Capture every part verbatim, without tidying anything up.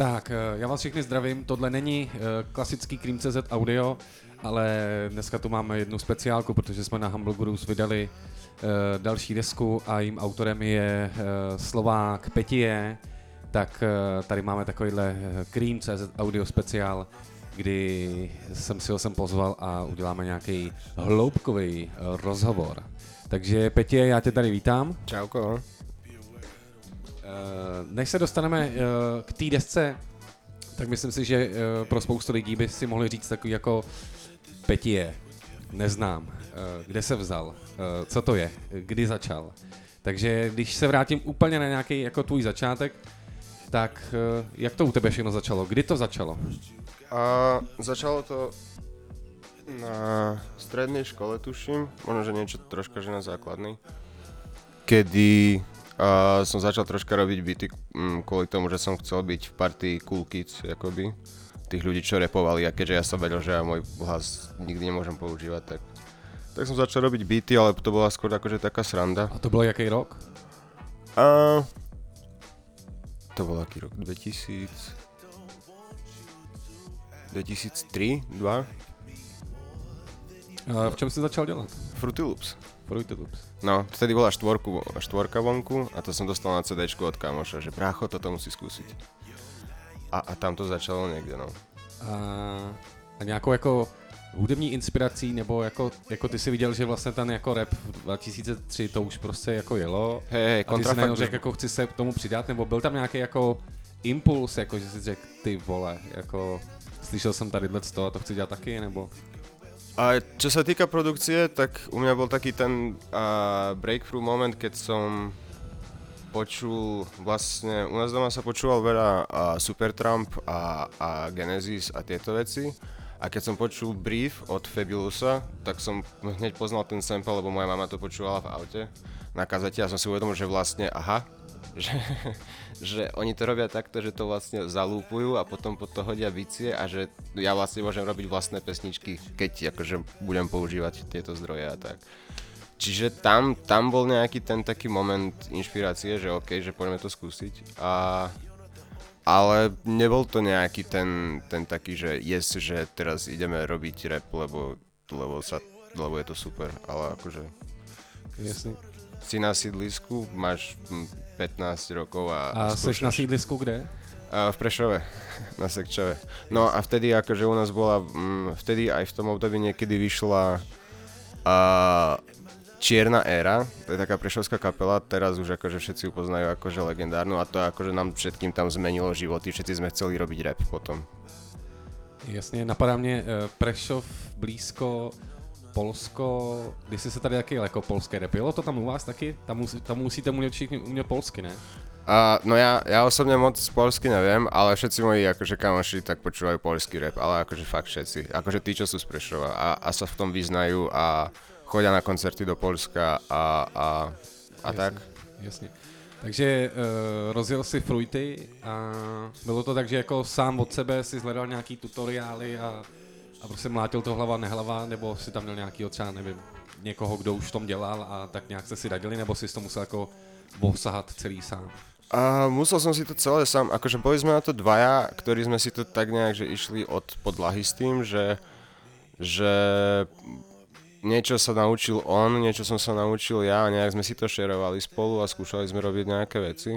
Tak, já vás všechny zdravím, tohle není klasický Cream tečka cé zet audio, ale dneska tu máme jednu speciálku, protože jsme na Humble Gurus vydali další desku a jím autorem je Slovák Petie, tak tady máme takovýhle Cream tečka cé zet audio speciál, kdy jsem si ho sem pozval a uděláme nějaký hloubkový rozhovor. Takže Petie, já tě tady vítám. Čauko. Než se dostaneme k té desce, tak myslím si, že pro spoustu lidí by si mohli říct takový jako Petie, neznám, kde se vzal, co to je, kdy začal. Takže když se vrátím úplně na nějaký jako tvůj začátek, tak jak to u tebe všechno začalo? Kdy to začalo? A začalo to na strednej škole, tuším, možno, že niečo troška, že na základnej, kedy uh, som začal troška robiť beaty um, kvôli tomu, že som chcel byť v partii Cool Kids, akoby, tých ľudí, čo rapovali, a keďže ja som vedel, že ja môj hlas nikdy nemôžem používať, tak, tak som začal robiť beaty, ale to bola skôr akože taká sranda. A to bol jaký rok? A to bol aký rok? dvetisíc... dvetisíctri, dva. A v čom si začal dělat? Fruity Loops. Fruity Loops. No, vtedy bola štvorku, štvorka vonku a to som dostal na CDčku od kamoša, že brácho, toto musí skúsiť. A, a tam to začalo někde, no. A, a nějakou jako hudební inspirací, nebo jako, jako ty si viděl, že vlastně ten jako rap v dva tisíce tři to už prostě jako jelo. Hej, hej, a ty si najednou řekl, jako chci se k tomu přidat, nebo byl tam nějaký jako impuls, jako že si řekl, ty vole, jako slyšel jsem tady to a to chci dělat taky, nebo? A čo sa týka produkcie, tak u mňa bol taký ten uh, breakthrough moment, keď som počul, vlastne u nás doma sa počúval veľa uh, Supertramp a, a Genesis a tieto veci. A keď som počul Brief od Fabulousa, tak som hneď poznal ten sample, lebo moja mama to počúvala v aute na kazete a som si uvedomil, že vlastne aha, že, že oni to robia takto, že to vlastne zalúpujú a potom pod to hodia bicie a že ja vlastne môžem robiť vlastné pesničky, keď akože budem používať tieto zdroje a tak. Čiže tam, tam bol nejaký ten taký moment inšpirácie, že okej, okay, že poďme to skúsiť. A, ale nebol to nejaký ten, ten taký, že yes, že teraz ideme robiť rap, lebo, lebo, sa, lebo je to super, ale akože... Jasne. Si na sídlisku, máš pätnásť rokov a... A seš na sídlisku kde? A v Prešove, na Sekčove. No a vtedy akože u nás bola, m, vtedy aj v tom období niekedy vyšla a, Čierna éra, to je taká prešovská kapela, teraz už akože všetci ju poznajú akože legendárnu a to akože nám všetkým tam zmenilo životy, všetci sme chceli robiť rap potom. Jasně, napadá mě Prešov, blízko Polsko, když jsi se tady taky jako polské rap, jelo to tam u vás taky? Tam, musí, tam musíte umět všichni umět polsky, ne? Uh, no ja, ja osobne moc polsky neviem, ale všetci moji akože kamoši tak počúvajú polský rap, ale akože fakt všetci, akože tí, čo sú z Prešova a, a sa v tom vyznajú a chodia na koncerty do Polska a, a, a jasně, tak. Jasně. Takže uh, rozjel si Fruity a bylo to tak, že jako sám od sebe si zhledal nějaký tutoriály a A prostě mlátil to hlava, nehlava, nebo si tam měl nějakýho třeba, nevím, někoho, kdo už v tom dělal a tak nějak jste si radili, nebo si to musel jako osahat celý sám? A musel som si to celé sám, akože boli sme na to dvaja, ktorí sme si to tak nejak, že išli od podlahy s tým, že, že niečo sa naučil on, niečo som sa naučil ja a nejak sme si to šerovali spolu a skúšali sme robiť nejaké veci.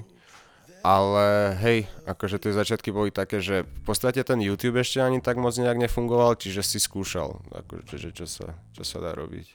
Ale hej, akože tie začiatky boli také, že v podstate ten YouTube ešte ani tak moc nejak nefungoval, čiže si skúšal, akože, že čo sa, čo sa dá robiť.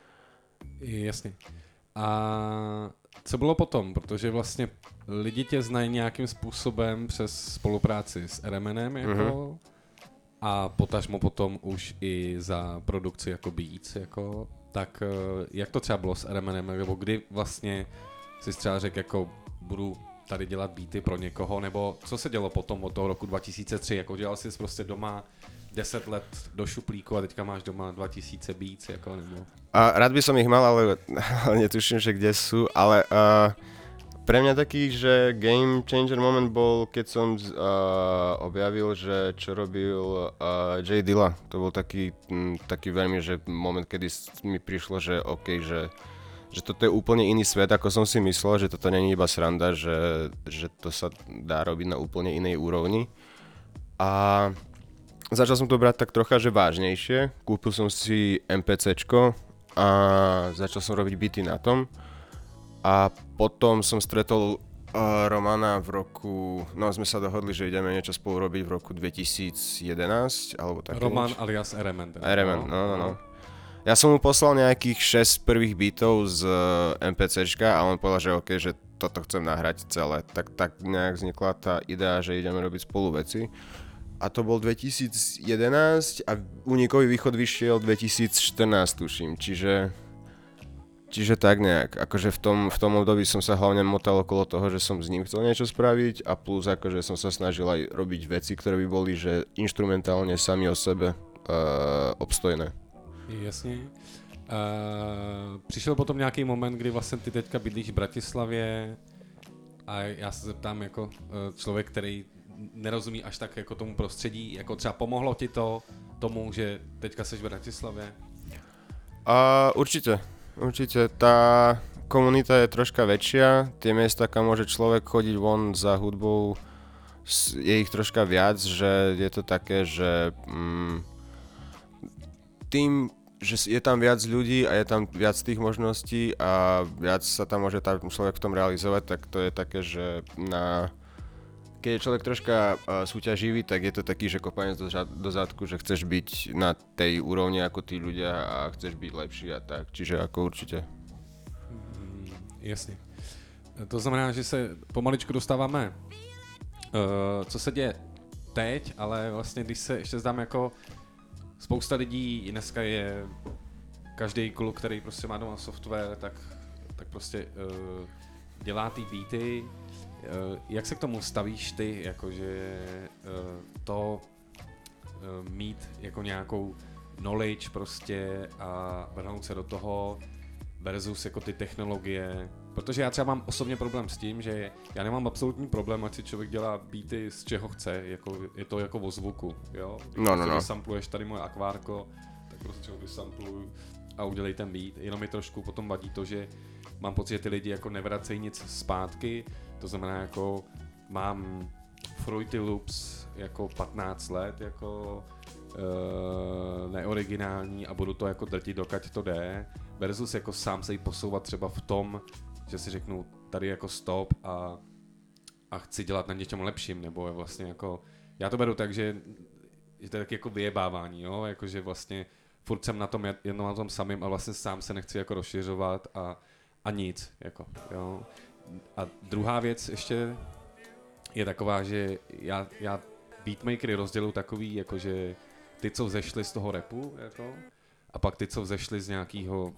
Jasně. A co bylo potom? Protože vlastně lidi tě znají nějakým způsobem přes spolupráci s R M N jako mm-hmm. a potažmo potom už i za produkci jako Beats, jako, tak jak to třeba bylo s R M N, nebo kdy vlastně si třeba řekl, jako budu tady dělat beaty pro někoho, nebo co se dělo potom od toho roku dva tisíce tři, jako dělal jsi prostě doma deset let do šuplíku a teďka máš doma dva tisíce beats, jako nebo... A rád by som ich mal, ale, ale netuším, že kde sú, ale uh, pre mňa taký, že game changer moment bol, keď som uh, objavil, že čo robil uh, J Dilla. To bol taký, m, taký veľmi, že moment, kedy mi prišlo, že OK, že že toto je úplne iný svet, ako som si myslel, že toto nie je iba sranda, že, že to sa dá robiť na úplne inej úrovni. A začal som to brať tak trocha, že vážnejšie. Kúpil som si MPCčko a začal som robiť beaty na tom. A potom som stretol uh, Romana v roku, no sme sa dohodli, že ideme niečo spolu robiť v roku dvetisíc jedenásť, alebo také Roman niečo. alias R M N. R M N, no, no, no. Ja som mu poslal nejakých šesť prvých beatov z MPCčka a on povedal, že OK, že toto chcem nahrať celé. Tak, tak nejak vznikla tá idea, že ideme robiť spolu veci. A to bol dvetisíc jedenásť a Unikový východ vyšiel dvetisíc štrnásť, tuším. Čiže, čiže tak nejak. Akože v tom, v tom období som sa hlavne motal okolo toho, že som s ním chcel niečo spraviť a plus akože som sa snažil aj robiť veci, ktoré by boli, že inštrumentálne sami o sebe uh, obstojné. Jasně. Uh, přišel potom nějaký moment, kdy vlastně ty teďka bydlíš v Bratislavě a já se zeptám jako uh, člověk, který nerozumí až tak jako tomu prostředí, jako třeba pomohlo ti to tomu, že teďka seš v Bratislavě? Uh, určite, určite. Tá komunita je troška väčšia, tie miesta, kam môže človek chodiť von za hudbou, je ich troška viac, že je to také, že mm, tým, že je tam viac ľudí a je tam viac tých možností a viac sa tam môže tam človek v tom realizovať, tak to je také, že na... keď je človek troška uh, súťaživý, tak je to taký, že kopanec do, do zadku, že chceš byť na tej úrovni ako tí ľudia a chceš byť lepší a tak, čiže ako určite. Mm, jasně. To znamená, že se pomaličku dostáváme, uh, co se děje teď, ale vlastně když se ještě zdám jako spousta lidí, dneska je každý kluk, který prostě má doma software, tak, tak prostě uh, dělá ty beaty. Uh, jak se k tomu stavíš ty, jakože uh, to uh, mít jako nějakou knowledge prostě a vrhnout se do toho versus jako ty technologie? Protože já třeba mám osobně problém s tím, že já nemám absolutní problém, ať si člověk dělá beaty z čeho chce, jako, je to jako o zvuku, jo? Když no, no, no. sampluješ tady moje akvárko, tak prostě ho vysampluju a udělej ten beat. Jenom mi trošku potom vadí to, že mám pocit, že ty lidi jako nevracejí nic zpátky, to znamená jako mám Fruity Loops jako patnáct let, jako uh, neoriginální a budu to jako drtit, dokud to jde, versus jako sám se jí posouvat třeba v tom, že si řeknu tady jako stop a, a chci dělat na něčem lepším, nebo je vlastně jako, já to beru tak, že, že to je taky jako vyjebávání, jo, jakože vlastně furt jsem na tom jednou na tom samým a vlastně sám se nechci jako rozšiřovat a, a nic, jako, jo. A druhá věc ještě je taková, že já, já beatmakery rozděluji takový, jakože ty, co vzešli z toho rapu, jako, a pak ty, co vzešli z nějakého,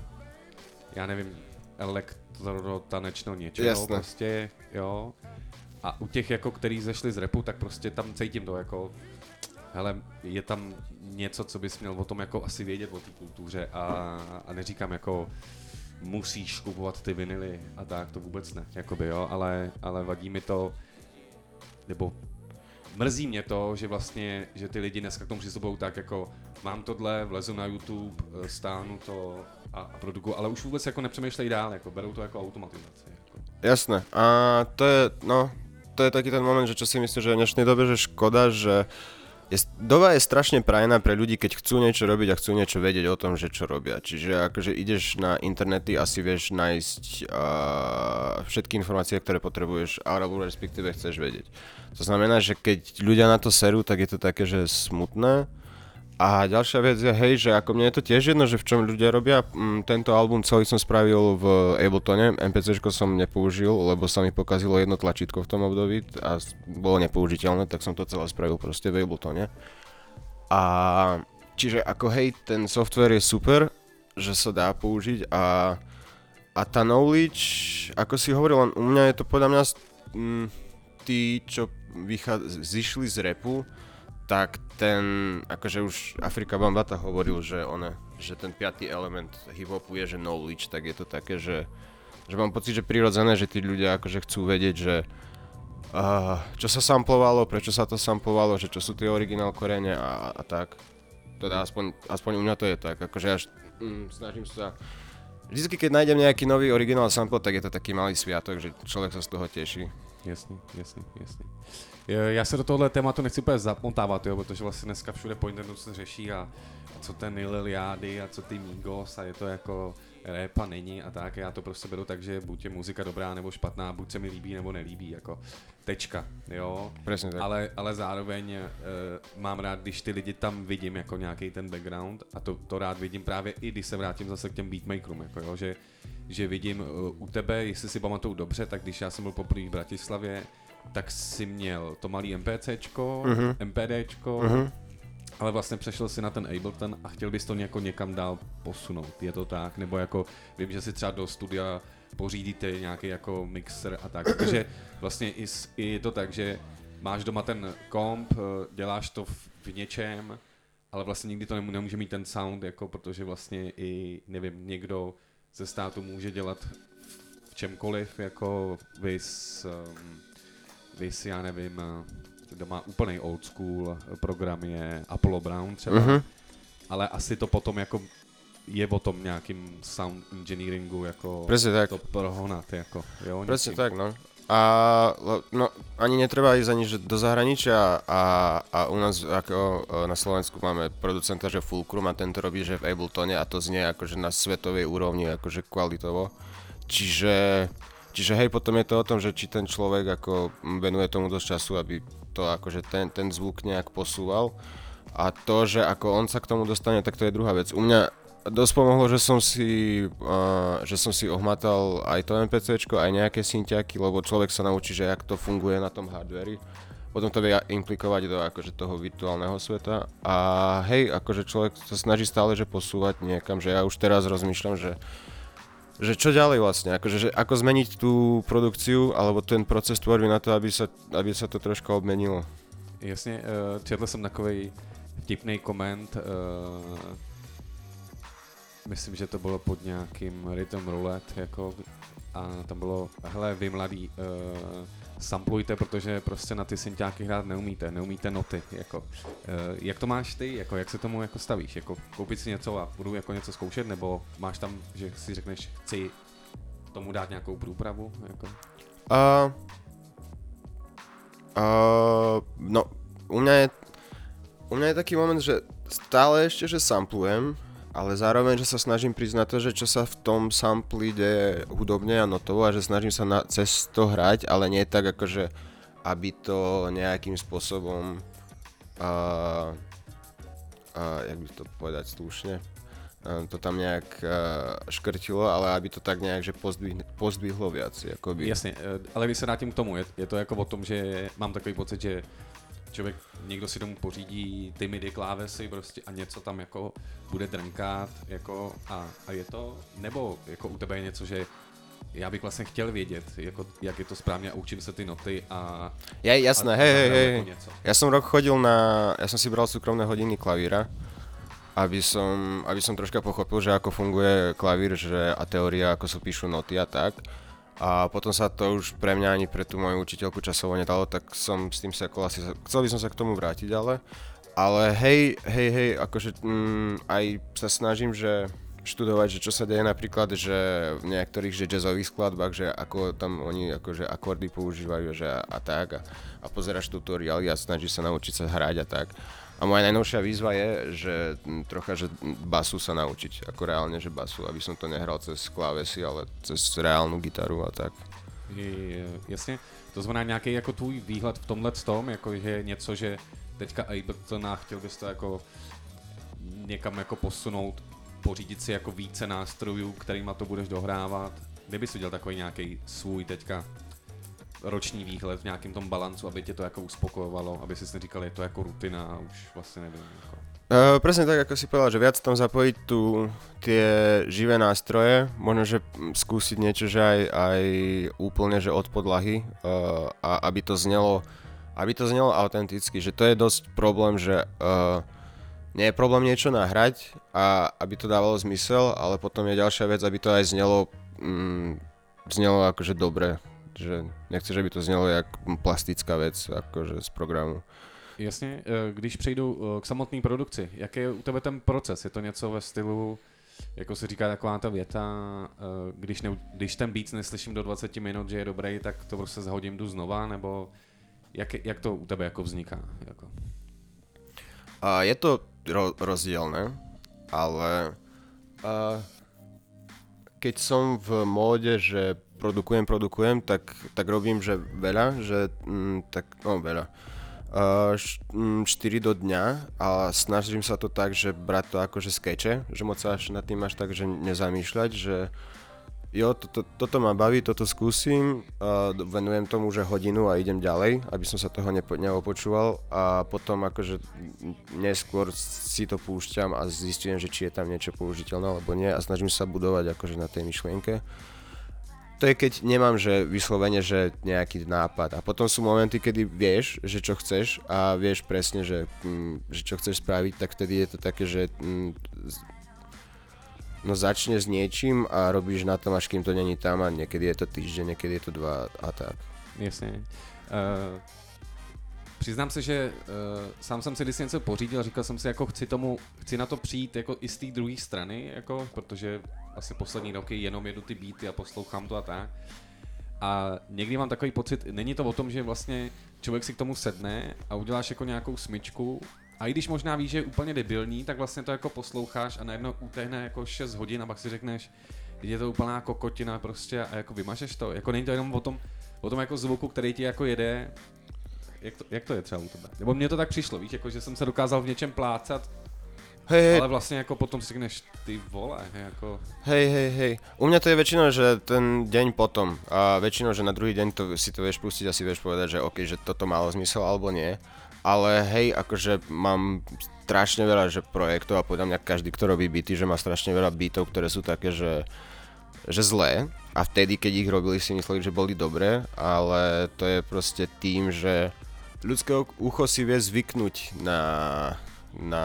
já nevím, elektrotanečno něčeho. Jasne. Prostě, jo. A u těch, jako, který zešli z rapu, tak prostě tam cítím to, jako, hele, je tam něco, co bys měl o tom jako asi vědět, o té kultuře a, a neříkám jako musíš kupovat ty vinily a tak, to vůbec ne, jakoby, jo, ale, ale vadí mi to, nebo mrzí mě to, že vlastně, že ty lidi dneska k tomu přistupují tak jako mám tohle, vlezu na YouTube, stáhnu to a, a produkuju, ale už vůbec jako nepřemýšlej dál, jako berou to jako automatizaci. Jako. Jasné, a to je, no, to je taký ten moment, že čo si myslím, že v dnešnej dobe, že škoda, že je, doba je strašne prajná pre ľudí, keď chcú niečo robiť a chcú niečo vedieť o tom, že čo robia. Čiže akože ideš na internety, asi vieš nájsť uh, všetky informácie, ktoré potrebuješ, alebo respektíve chceš vedieť. To znamená, že keď ľudia na to serú, tak je to také, že smutné. A ďalšia vec je, hej, že ako mne je to tiež jedno, že v čom ľudia robia. Mm, tento album celý som spravil v Abletone, MPCčko som nepoužil, lebo sa mi pokazilo jedno tlačítko v tom období a bolo nepoužiteľné, tak som to celé spravil proste v Abletone. A čiže ako hej, ten software je super, že sa dá použiť a, a tá knowledge, ako si hovoril, u mňa je to podľa mňa mm, tí, čo vychádza, zišli z rapu, tak ten, akože už Afrika Bambata hovoril, že one, že ten piatý element hip-hopu je, že knowledge, tak je to také, že, že mám pocit, že prirodzené, že tí ľudia akože chcú vedieť, že uh, čo sa samplovalo, prečo sa to samplovalo, že čo sú tie originál korene a, a tak. Teda aspoň, aspoň u mňa to je tak, akože ja mm, snažím sa vždycky, keď nájdem nejaký nový originál sample, tak je to taký malý sviatok, že člověk se z toho těší. Jasný, jasný, jasný. Já se do tohohle tématu nechci úplně zamontávat, jo, protože vlastně dneska všude po internetu se řeší a, a co ten Liliády a co ty Migos a je to jako rap a není a tak. Já to prostě beru tak, že buď je muzika dobrá nebo špatná, buď se mi líbí nebo nelíbí, jako tečka, jo. Presne tak. Ale, ale zároveň uh, mám rád, když ty lidi tam vidím jako nějaký ten background a to, to rád vidím právě i když se vrátím zase k těm beatmakerům, jako jo, že, že vidím uh, u tebe, jestli si pamatuju dobře, tak když já jsem byl poprvé v Bratislavě, tak si měl to malý MPCčko, uh-huh. MPDčko, uh-huh. ale vlastně přešel si na ten Ableton a chtěl bys to jako někam dál posunout, je to tak? Nebo jako vím, že si třeba do studia pořídíte nějaký jako mixer a tak, protože vlastně i, i je to tak, že máš doma ten komp, děláš to v, v něčem, ale vlastně nikdy to nemůže mít ten sound, jako protože vlastně i, nevím, někdo ze státu může dělat v čemkoliv, jako vys, um, vys, já nevím, kdo má úplnej old school program je Apollo Brown třeba, uh-huh. ale asi to potom jako je o tom nějakým sound engineeringu, jako to prohonat, jako, jo? Presne tak, no. A no, ani netreba ísť ani že do zahraničia a, a u nás ako na Slovensku máme producenta, že Fulcrum a tento robí, že v Abletone a to znie akože na svetovej úrovni, akože kvalitovo. Čiže, čiže hej, potom je to o tom, že či ten človek ako venuje tomu dosť času, aby to akože ten, ten zvuk nejak posúval. A to, že ako on sa k tomu dostane, tak to je druhá vec. U mňa dosť pomohlo, že som si, uh, že som si ohmatal aj to MPCčko, aj nejaké synťaky, lebo človek sa naučí, že jak to funguje na tom hardveri. Potom to vie implikovať do akože toho virtuálneho sveta. A hej, akože človek sa snaží stále že posúvať niekam, že ja už teraz rozmýšľam, že že čo ďalej vlastne, akože, že ako zmeniť tú produkciu alebo ten proces tvorby na to, aby sa, aby sa to troška obmenilo. Jasně, uh, četl jsem takovej vtipnej koment, uh, myslím, že to bylo pod nějakým Rhythm Roulette, jako, a tam bylo, hele, vy mladí, uh, samplujte, protože prostě na ty synťáky hrát neumíte, neumíte noty, jako. Uh, jak to máš ty, jako, jak se tomu jako stavíš, jako koupit si něco a budu jako něco zkoušet, nebo máš tam, že si řekneš, chci tomu dát nějakou průpravu, jako? Uh, uh, no, u mňa je, u mňa je taký moment, že stále ešte, že samplujem, ale zároveň, že sa snažím prísť na to, že čo sa v tom sampli deje hudobne a notovo a že snažím sa na, cez to hrať, ale nie tak akože, aby to nejakým spôsobom, uh, uh, jak by to povedať slušne, uh, to tam nejak uh, škrtilo, ale aby to tak nejak, že pozdvihlo, pozdvihlo viac, jakoby. Jasně, ale když se vrátím k tomu, je, je to jako o tom, že mám takový pocit, že člověk, někdo si domů pořídí ty midi klávesy prostě a něco tam jako bude drnkat jako a, a je to, nebo jako u tebe je něco, že já bych vlastně chtěl vědět, jako, jak je to správně a učím se ty noty a... Ja, jasné, hej, hej, hej. Jako ja som rok chodil na, ja som si bral súkromné hodiny klavíra, aby som, aby som troška pochopil, že ako funguje klavír, že a teória, ako sa píšu noty a tak. A potom sa to už pre mňa ani pre tú moju učiteľku časovo nedalo, tak som s tým sa ako asi, chcel by som sa k tomu vrátiť, ale, ale hej, hej, hej, akože mm, aj sa snažím, že študovať, že čo sa deje napríklad, že v niektorých že jazzových skladbách, že ako tam oni akože akordy používajú, že a, a tak a, a pozeráš tutoriály a snažíš sa naučiť sa hrať a tak. A moja najnovšia výzva je, že trocha, že basu sa naučiť, ako reálne, že basu, aby som to nehral cez klávesy, ale cez reálnu gitaru a tak. Je, jasně, to znamená nějaký jako tvůj výhled v tomhle tom, jako je něco, že teďka Ableton a chtěl bys to jako někam jako posunout, pořídit si jako více nástrojů, kterýma to budeš dohrávat. Kdyby si udělal takový nějaký svůj teďka roční výhled v nějakém tom balancu, aby tě to jako uspokojovalo, aby si neříkal, je to jako rutina a už vlastně nevím. Jako. Uh, presne tak, ako si povedal, že viac tam zapojiť tu tie živé nástroje, možno, že skúsiť niečo, že aj, aj úplne, že od podlahy, uh, a aby to znelo, aby to znelo autenticky, že to je dosť problém, že uh, nie je problém niečo nahrať a aby to dávalo zmysel, ale potom je ďalšia vec, aby to aj znelo, mm, znelo akože dobre, že nechceš, aby to znelo jak plastická vec, akože z programu. Jasně, když přejdu k samotné produkci, jaký je u tebe ten proces? Je to něco ve stylu, jako se říká taková ta věta, když, ne, když ten beat neslyším do dvacet minut, že je dobrý, tak to prostě zahodím, jdu znova, nebo jak, jak to u tebe jako vzniká? Jako? A je to ro- rozdielne, ale a keď som v móde, že produkujem, produkujem, tak, tak robím, že veľa, že mm, tak, no veľa. Uh, štyri do dňa a snažím sa to tak, že brať to ako že skeče, že moc sa až nad tým až tak, že nezamýšľať, že jo, toto, toto ma baví, toto skúsim, uh, venujem tomu, že hodinu a idem ďalej, aby som sa toho nepo, neopočúval a potom akože neskôr si to púšťam a zistím, že či je tam niečo použiteľné alebo nie a snažím sa budovať akože na tej myšlienke. To je keď nemám, že vyslovene, že nejaký nápad a potom sú momenty, kedy vieš, že čo chceš a vieš presne, že, mm, že čo chceš spraviť, tak vtedy je to také, že mm, no začne s niečím a robíš na tom, až kým to není tam a niekedy je to týždeň, niekedy je to dva a tak. Jasně. Uh, přiznám se, že uh, sám jsem si když něco pořídil, říkal jsem si, jako chci tomu, chci na to přijít jako i z té druhé strany, jako, protože asi poslední roky jenom jedu ty beaty a poslouchám to a tak. A někdy mám takový pocit, není to o tom, že vlastně člověk si k tomu sedne a uděláš jako nějakou smyčku a i když možná víš, že je úplně debilní, tak vlastně to jako posloucháš a najednou utéhne jako šest hodin a pak si řekneš, je to úplná kokotina prostě a jako vymažeš to. Jako není to jenom o tom, o tom jako zvuku, který ti jako jede. Jak to, jak to je třeba u tebe? Nebo mně to tak přišlo, víš, jako že jsem se dokázal v něčem plácat, hej, hej. Ale vlastně jako potom si řekneš, ty vole, jako... Hej, hej, hej. U mňa to je väčšinou, že ten deň potom a väčšinou, že na druhý deň to, si to vieš pustiť a si vieš povedať, že OK, že toto malo zmysel alebo nie. Ale hej, akože mám strašne veľa že projektov a podľa mňa každý, kto robí beaty, že má strašne veľa beatov, ktoré sú také, že, že zlé. A vtedy, keď ich robili, si mysleli, že boli dobré, ale to je proste tým, že ľudské ucho si vie zvyknúť na... Na,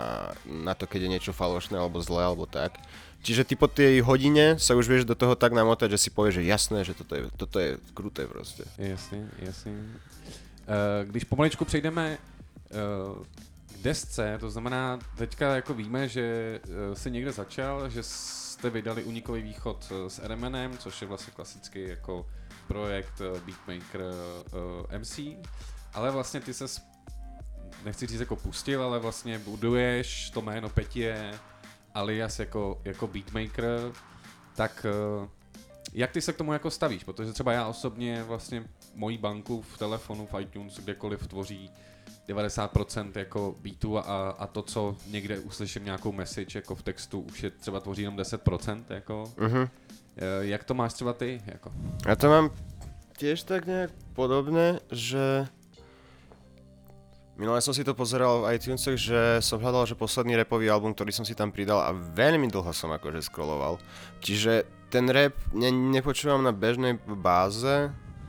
na to, keď je niečo falošné alebo zlé alebo tak. Čiže ty po tej hodine sa už vieš do toho tak namotať, že si povieš, že jasné, že toto je, toto je kruté proste. Jasně, jasně. Uh, když pomaličku přejdeme uh, k desce, to znamená, teďka jako víme, že uh, jsi někde začal, že jste vydali Unikový východ s Eremenem, což je vlastně klasický jako projekt uh, beatmaker uh, M C, ale vlastně ty ses nechci říct jako pustil, ale vlastně buduješ to jméno Petie alias jako, jako beatmaker, tak jak ty se k tomu jako stavíš? Protože třeba já osobně vlastně moji banku v telefonu, v iTunes, kdekoliv tvoří devadesát procent jako beatu a, a to, co někde uslyším nějakou message jako v textu, už je třeba tvoří jenom deset procent jako. Uh-huh. Jak to máš třeba ty? Jako? Ja to mám tiež tak nejak podobné, že minule som si to pozeral v iTunesech, že som hľadal, že posledný rapový album, ktorý som si tam pridal a veľmi dlho som akože scrolloval. Čiže ten rap ne, nepočúvam na bežnej báze,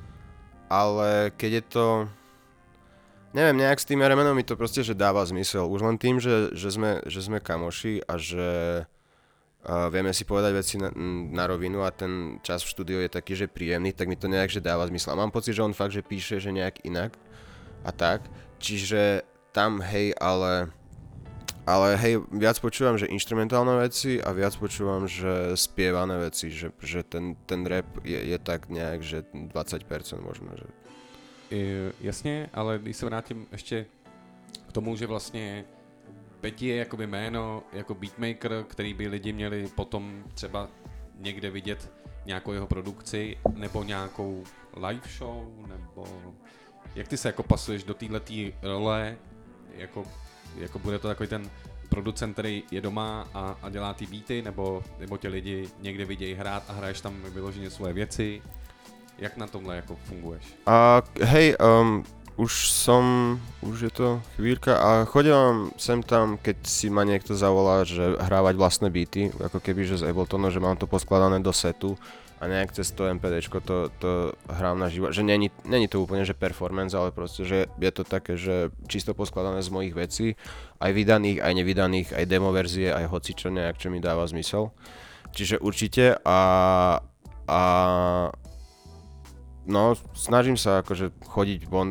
ale keď je to... Neviem, nejak s tým Eremenom mi to proste, že dáva zmysel. Už len tým, že, že, sme, že sme kamoši a že uh, vieme si povedať veci na, na rovinu a ten čas v štúdiu je taký, že príjemný, tak mi to nejak, že dáva zmysel. A mám pocit, že on fakt, že píše, že nejak inak a tak. Čiže tam hej, ale, ale hej, viac počúvam, že instrumentálne veci a viac počúvam, že spievané veci, že, že ten, ten rap je, je tak nejak, že dvacet percent možno, že... I, jasně, ale když se vrátím ještě k tomu, že vlastně Peti je jakoby jméno jako beatmaker, který by lidi měli potom třeba někde vidět nějakou jeho produkci nebo nějakou live show, nebo... Jak ty se jako pasuješ do téhletý role, jako, jako bude to takový ten producent, který je doma a, a dělá ty beaty, nebo, nebo tě lidi někde vidějí hrát a hraješ tam vyloženě svoje věci? Jak na tomhle jako funguješ? A hej, um, už som, už je to chvíľka a chodím sem tam, keď si ma niekto zavolá, že hrávať vlastné beaty, ako keby, že z Abletonu, že mám to poskladané do setu a nejak cez to MPDčko to, to hrám na živo, že není, není to úplne, že performance, ale proste, že je to také, že čisto poskladané z mojich vecí, aj vydaných, aj nevydaných, aj demo verzie, aj hocičo nejak, čo mi dáva zmysel. Čiže určite a, a no, snažím sa akože chodiť von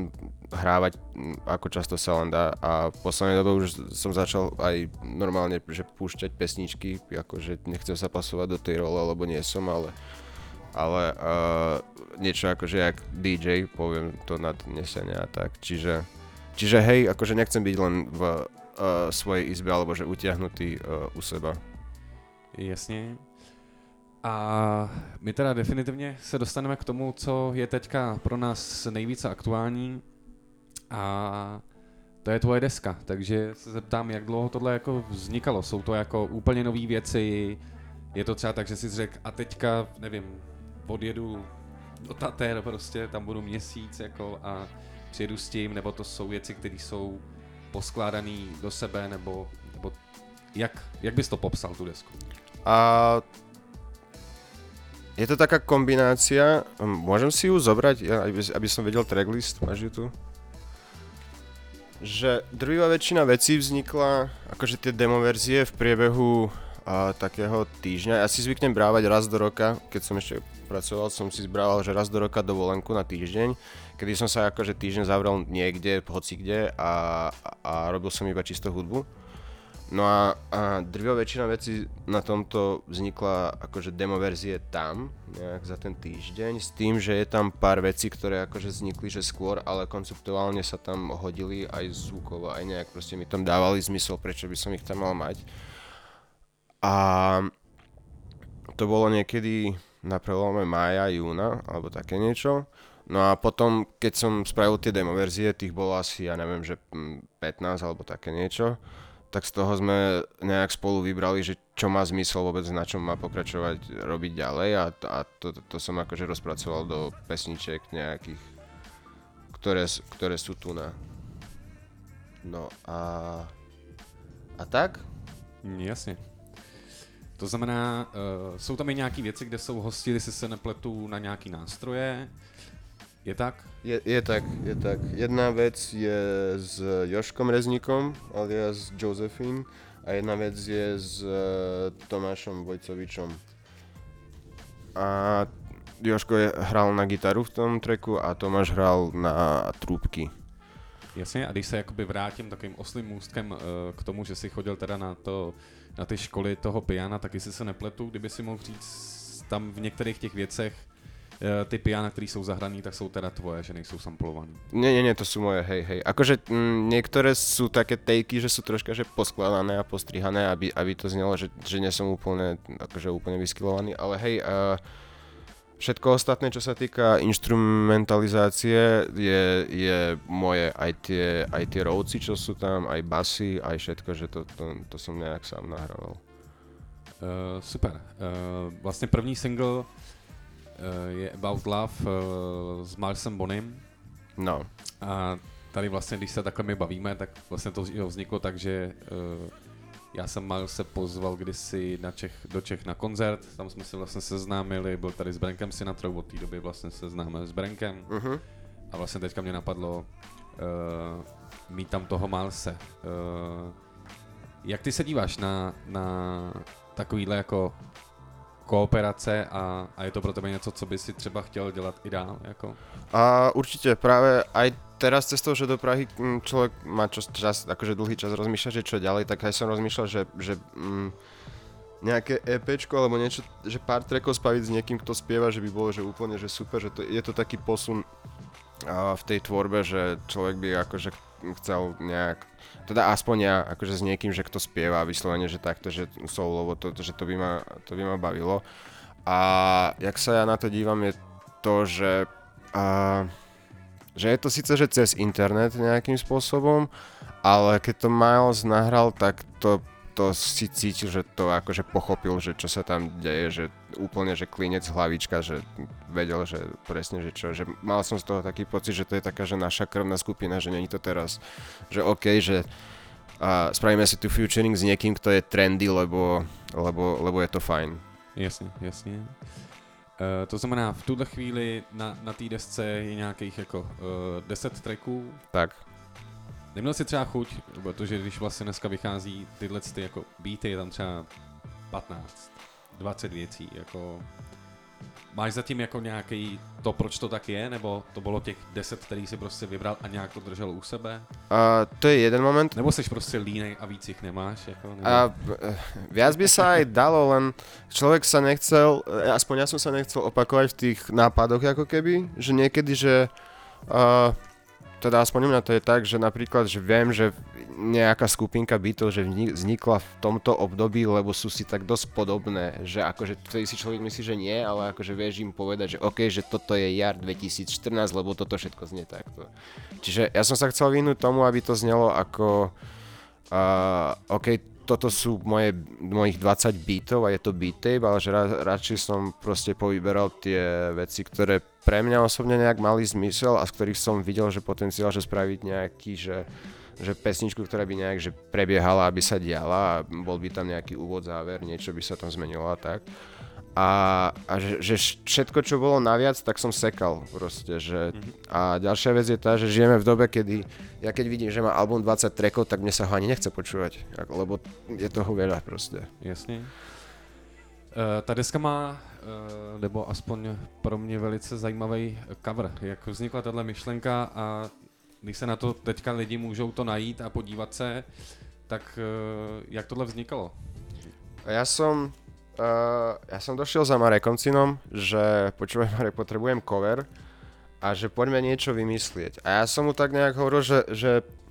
hrávať, ako často sa len dá a v poslednej dobe už som začal aj normálne, že púšťať pesničky, akože nechcem sa pasovať do tej role, lebo nie som, ale ale uh, niečo akože jak dý džej, poviem to nadnesenia a tak, čiže čiže hej, akože nechcem byť len v uh, svojej izbe, alebo že utiahnutý uh, u seba. Jasně. A my teda definitivně se dostaneme k tomu, co je teďka pro nás nejvíce aktuální, a to je tvoje deska, takže se zeptám, jak dlouho tohle jako vznikalo, jsou to jako úplně nový věci, je to třeba tak, že jsi řekl a teďka, nevím, odjedu do Tater prostě, tam budu měsíc jako a přijedu s tím, nebo to jsou věci, které jsou poskládané do sebe, nebo, nebo jak, jak bys to popsal, tu desku? A je to taká kombinácia, môžem si ju zobrať, aby, aby som vedel tracklist, máš ju tu? Že drvivá väčšina vecí vznikla, akože tie demo verzie v priebehu a, takého týždňa. Ja si zvyknem brávať raz do roka, keď som ešte pracoval, som si zbrával, že raz do roka dovolenku na týždeň, kedy som sa akože týždeň zavrel niekde, hocikde a, a robil som iba čisto hudbu. No a, a drvivá väčšina vecí na tomto vznikla akože demo verzie tam, nejak za ten týždeň, s tým, že je tam pár vecí, ktoré akože vznikli, že skôr, ale konceptuálne sa tam hodili aj zvukovo, aj nejak proste mi tam dávali zmysel, prečo by som ich tam mal mať. A to bolo niekedy na prelome mája, júna, alebo také niečo. No a potom, keď som spravil tie demo verzie, tých bolo asi, ja neviem, že pätnásť alebo také niečo, tak z toho sme nejak spolu vybrali, že čo má zmysel vôbec, na čom má pokračovať, robiť ďalej a, a to, to, to som akože rozpracoval do pesničiek nejakých, ktoré, ktoré sú tu na. No a... A tak? Jasně. To znamená, uh, jsou tam i nějaký věci, kde jsou hosti, jestli se nepletu, na nějaký nástroje. Je tak? Je, je tak, je tak. Jedna vec je s Joškom Rezníkom, alias Josephine, a jedna vec je s Tomášom Vojcovičom. A Joško je, hral na gitaru v tom tracku a Tomáš hral na trúbky. Jasně, a když se jakoby vrátím takovým oslým můstkem uh, k tomu, že jsi chodil teda na, to, na ty školy toho piana, tak jestli se nepletu, kdyby si mohl říct tam v některých těch věcech, ty piana, ktoré sú zahrané, tak sú teda tvoje, že nejsou samplované. Nie, nie, nie, to sú moje, hej, hej. Akože m, niektoré sú také takey, že sú troška že poskladané a postrihané, aby, aby to znelo, že, že nie som úplne, akože úplne vyskylovaný, ale hej, uh, všetko ostatné, čo sa týka instrumentalizácie, je, je moje, aj tie, aj tie rovci, čo sú tam, aj basy, aj všetko, že to, to, to som nejak sám nahrával. Uh, super. Uh, vlastne první single Uh, je About Love uh, s Milesem Bonim. No. A tady vlastně, když se takhle my bavíme, tak vlastně to vzniklo tak, že uh, já jsem Milese pozval kdysi na Čech, do Čech na koncert, tam jsme se vlastně seznámili, byl tady s Brankem Sinatrou, od té doby vlastně se známe s Brankem. Uh-huh. A vlastně teďka mě napadlo uh, mít tam toho Milese. Uh, jak ty se díváš na, na takovýhle jako kooperace a, a je to pro tebe něco, co by si třeba chtěl dělat i dál? Jako? A určite práve aj teraz cestou, že do Prahy človek má čas, čas akože dlhý čas rozmýšľať, že čo ďalej, tak aj som rozmýšľal, že, že mm, nejaké EPčko alebo niečo, že pár trackov spraviť s niekým, kto spieva, že by bolo že úplne že super, že to, je to taký posun a, v tej tvorbe, že človek by akože chcel nejak, teda aspoň ja, akože s niekým, že kto spieva vyslovene, že takto, že soulovo, to, že to by ma, to by ma bavilo. A jak sa ja na to dívam je to, že, a, že je to síce, že cez internet nejakým spôsobom, ale keď to Miles nahral, tak to, to si cítil, že to akože pochopil, že čo sa tam deje, že úplne, že klinec hlavička, že vedel, že presne, že čo, že mal som z toho taký pocit, že to je taká, že naša krvná skupina, že není to teraz, že okej, okay, že a spravíme si tu featuring s niekým, kto je trendy, lebo, lebo, lebo je to fajn. Jasně, jasně. Uh, to znamená, v tuhle chvíli na, na té desce je nějakých jako uh, deset tracků. Tak. Neměl si třeba chuť, protože když vlastně dneska vychází tyhle ty jako beaty, je tam třeba patnáct, dvacet věcí, jako máš zatím jako nějaký to, proč to tak je, nebo to bylo těch deset, který si prostě vybral a nějak to držel u sebe? Uh, to je jeden moment. Nebo jsi prostě línej a víc ich nemáš? Jako, nebo... A viac by sa aj dalo, len človek sa nechcel, aspoň ja som sa nechcel opakovať v tých nápadoch ako keby, že niekedy, že uh, teda aspoň u mňa to je tak, že napríklad, že viem, že nejaká skupinka bytov, že vznikla v tomto období, lebo sú si tak dosť podobné, že akože vtedy si človek myslí, že nie, ale akože vieš im povedať, že OK, že toto je jar dvetisícštrnásť, lebo toto všetko znie takto. Čiže ja som sa chcel vyhnúť tomu, aby to znelo ako uh, OK, toto sú moje, mojich dvadsať beatov a je to beat tape, ale že ra, radšej som proste povyberal tie veci, ktoré pre mňa osobne nejak mali zmysel a z ktorých som videl, že potenciál, že spraviť nejaký, že, že pesničku, ktorá by nejak že prebiehala, aby sa diala a bol by tam nejaký úvod, záver, niečo by sa tam zmenilo a tak. A, a že, že všetko, čo bolo naviac, tak som sekal proste, že a ďalšia vec je tá, že žijeme v dobe, kedy ja keď vidím, že má album dvadsať trackov, tak mne sa ho ani nechce počúvať, lebo je toho veľa proste. Jasně. Uh, ta deska má, uh, nebo aspoň pro mě velice zajímavý cover. Jak vznikla tato myšlenka a když se na to teďka lidi můžou to najít a podívat se, tak uh, jak tohle vznikalo? Ja som Uh, ja som došiel za Marekom Cinom, že počúvaj Marek, potrebujem cover a že poďme niečo vymyslieť. A ja som mu tak nejak hovoril, že, že,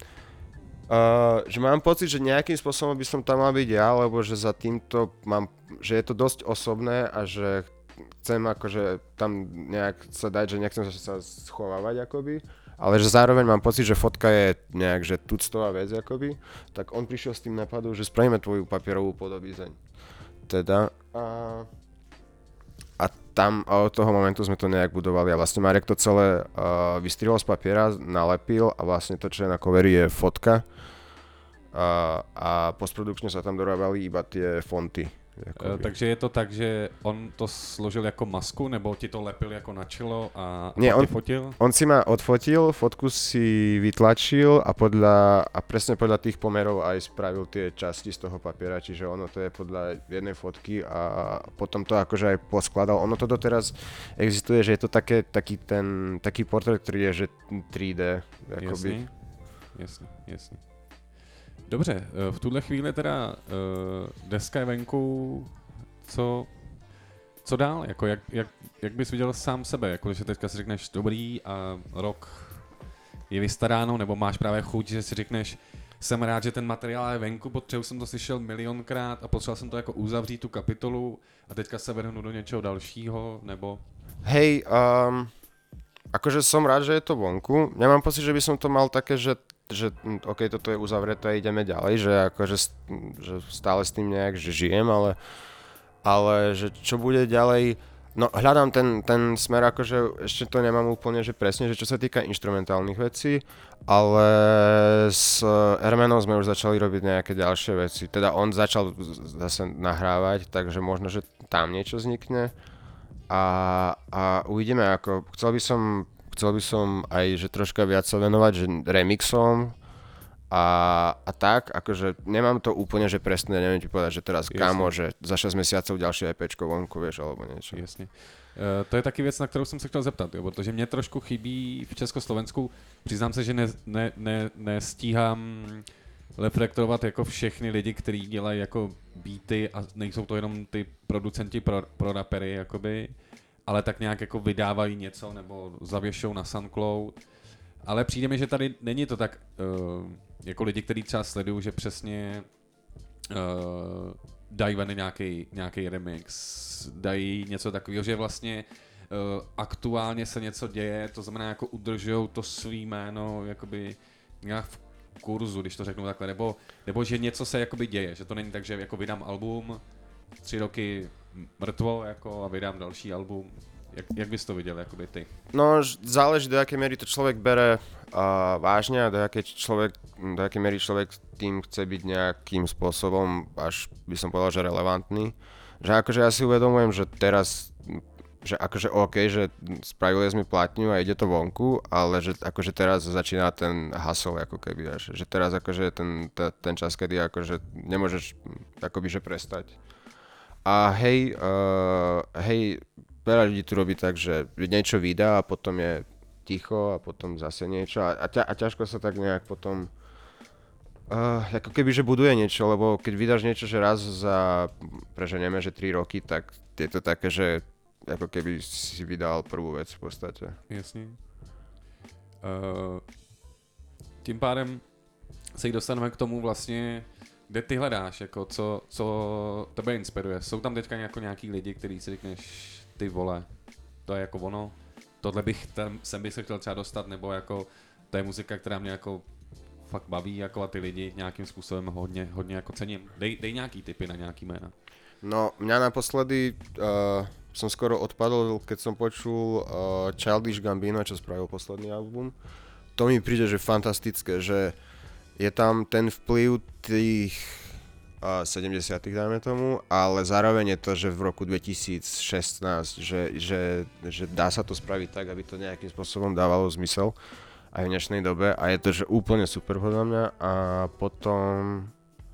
uh, že mám pocit, že nejakým spôsobom by som tam mal byť ja, lebo že za týmto mám, že je to dosť osobné a že chcem akože tam nejak sa dať, že nechcem sa schovávať akoby, ale že zároveň mám pocit, že fotka je nejak, že tuctová vec akoby, tak on prišiel s tým napadom, že spravíme tvoju papierovú podobizeň. Teda a, a tam a od toho momentu sme to nejak budovali a vlastne Marek to celé uh, vystrihol z papiera, nalepil a vlastne to, čo je na coveri je fotka uh, a postprodukčne sa tam dorábali iba tie fonty. Uh, takže je to tak, že on to složil jako masku, nebo ti to lepil jako na čelo a, a Nie, on, fotil? On si ma odfotil, fotku si vytlačil a, podľa, a presne podľa tých pomerov aj spravil tie časti z toho papiera, čiže ono to je podľa jednej fotky a potom to akože aj poskladal. Ono to doteraz existuje, že je to také, taký ten, taký portrét, ktorý je že tri dé. Jasný, jasný, jasný. Dobře, v tuhle chvíli teda uh, deska je venku, co, co dál, jako jak, jak, jak bys viděl sám sebe, jako že teďka si řekneš dobrý a rok je vystaráno, nebo máš právě chuť, že si řekneš jsem rád, že ten materiál je venku, protože jsem to slyšel milionkrát a potřeboval jsem to jako uzavřít tu kapitolu a teďka se vrhnu do něčeho dalšího, nebo... Hej, um, akože som rád, že je to vonku, nemám pocit, že by som to mal také, že že OK, toto je uzavreté a ideme ďalej, že akože že stále s tým nejak, že žijem, ale, ale že čo bude ďalej, no hľadám ten, ten smer, akože ešte to nemám úplne, že presne, že čo sa týka inštrumentálnych vecí, ale s Ermenom sme už začali robiť nejaké ďalšie veci, teda on začal zase nahrávať, takže možno, že tam niečo vznikne a, a uvidíme, ako chcel by som Chcel by som aj, že troška viac sa venovať, že remixom a, a tak, akože nemám to úplne, že presne, neviem ti povedať, že teraz Jasne. Kámo, že za šesť mesiacov ďalšie EPčko vonku, vieš, alebo niečo. Jasne. Uh, to je taky věc, na kterou jsem se chtěl zeptat, jo, protože mě trošku chybí v Československu, přiznám se, že ne, ne, ne, nestíhám reflektovat jako všechny lidi, kteří dělají jako beaty a nejsou to jenom ty producenti pro, pro rapery, jakoby, ale tak nějak jako vydávají něco nebo zavěšou na SoundCloud. Ale přijde mi, že tady není to tak uh, jako lidi, kteří třeba sledují, že přesně uh, dají ven nějaký, nějaký remix, dají něco takového, že vlastně uh, aktuálně se něco děje, to znamená jako udržujou to svý jméno jakoby nějak v kurzu, když to řeknu takhle, nebo, nebo že něco se jakoby děje, že to není tak, že jako vydám album, tři roky mrtvo jako a vydám další album. Jak, jak bys to viděl, jakoby ty? No, záleží, do jakej miery to človek bere uh, vážne a do jakej, človek, do jakej miery človek tým chce byť nejakým spôsobom, až by som povedal, že relevantný. Že akože ja si uvedomujem, že teraz, že akože OK, že spravili sme platňu a ide to vonku, ale že akože teraz začína ten hustle, ako keby, až, že teraz akože ten, ten čas, kedy akože nemôžeš akoby, že prestať. A hej, uh, hej, veľa ľudí tu robí tak, že niečo vydá a potom je ticho a potom zase niečo a, a, ťa, a ťažko sa tak nejak potom uh, ako keby, že buduje niečo, lebo keď vydáš niečo, že raz za, preženieme, že tri roky, tak je to také, že ako keby si vydal prvú vec v podstate. Jasně. Uh, tím pádem se dostaneme k tomu vlastně, kde ty hledáš, jako co, co tebe inspiruje. Jsou tam teďka jako nějaký lidi, který si řekneš, ty vole, to je jako ono, tohle bych tam, sem bych se chtěl třeba dostat, nebo jako to je muzika, která mě jako fakt baví, jako a ty lidi nějakým způsobem hodně, hodně jako cením. Dej, dej nějaký tipy na nějaký jména. No, mňa naposledy uh, som skoro odpadol, keď som počul uh, Childish Gambino, čo spravil posledný album. To mi príde, že fantastické, že je tam ten vplyv tých uh, sedemdesiatych dajme tomu, ale zároveň je to, že v roku dvetisícšestnásť, že, že, že dá sa to spraviť tak, aby to nejakým spôsobom dávalo zmysel aj v dnešnej dobe a je to, že úplne super podľa mňa a potom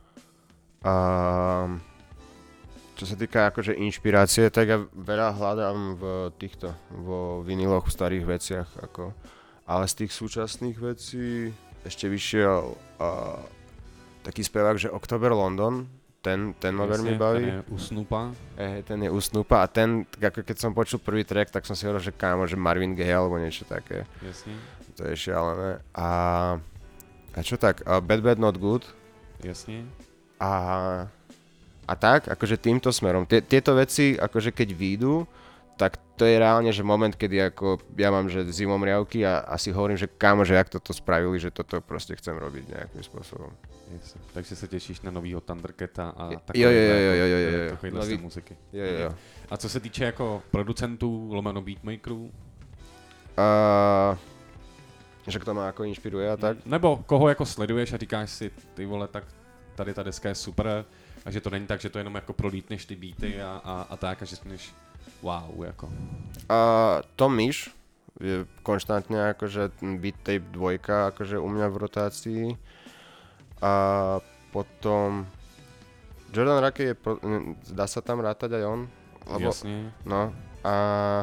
uh, čo sa týka akože inšpirácie, tak ja veľa hľadám v týchto, vo viniloch, v starých veciach, ako, ale z tých súčasných vecí ešte vyšiel uh, taký spevák, že October London, ten, ten ma veľmi baví. Ten je u Snoopa. Eh, ten je u Snoopa a ten, ako keď som počul prvý track, tak som si hovoril, že kámo, že Marvin Gaye alebo niečo také. Jasne. To je šialené. A, a čo tak, uh, Bad Bad Not Good. Jasne. A, a tak, akože týmto smerom. T- tieto veci, akože keď výjdu, tak to je reálne, že moment, kedy ako ja mám, že zimomriavky a asi hovorím, že kámo, že jak toto spravili, že toto proste chcem robiť nejakým spôsobom. Yes. Takže sa tešíš na novýho Thundercata a jo, jo, jo, jo, jo, jo, jo. takovýhle Nový... muziky. Jo, jo, jo. A co se týče jako producentů, lomeno beatmakerů? Uh, že kto ma ako inšpiruje a tak? Nebo koho jako sleduješ a říkáš si, ty vole, tak tady ta deska je super a že to není tak, že to jenom jako prolítneš ty beaty a, a, a tak a že řekneš wow, jako. Uh, Tom Misch je konštantne akože Beat Tape dvojka akože u mňa v rotácii. A potom Jordan Rakey je, pro, dá sa tam rátať aj on? Lebo, jasně. No a...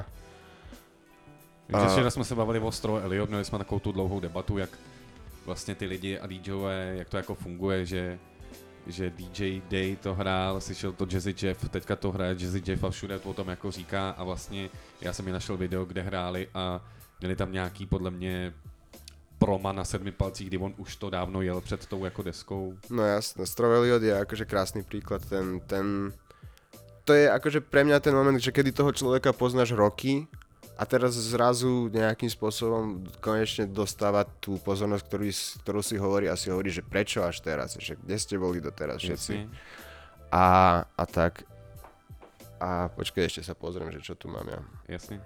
Takže včera jsme se bavili o Stro Elliot, měli jsme takovou tu dlouhou debatu, jak vlastně ty lidi a DJové, jak to jako funguje, že že D J Day to hrál, slyšel to Jazzy Jeff, teďka to hraje Jazzy Jeff a všude to o tom jako říká a vlastně já jsem mi našel video, kde hráli a měli tam nějaký podle mě proma na sedmi palcích, kdy on už to dávno jel před tou jako deskou. No jasné, Stro Elliot je akože krásny príklad, ten, ten, to je akože pre mňa ten moment, že kedy toho človeka poznáš roky a teraz zrazu nejakým spôsobom konečne dostáva tú pozornosť, ktorú, ktorú si hovorí a si hovorí, že prečo až teraz, že kde ste boli doteraz všetci. A, a tak. A počkaj, ešte sa pozriem, že čo tu mám ja. Jasně.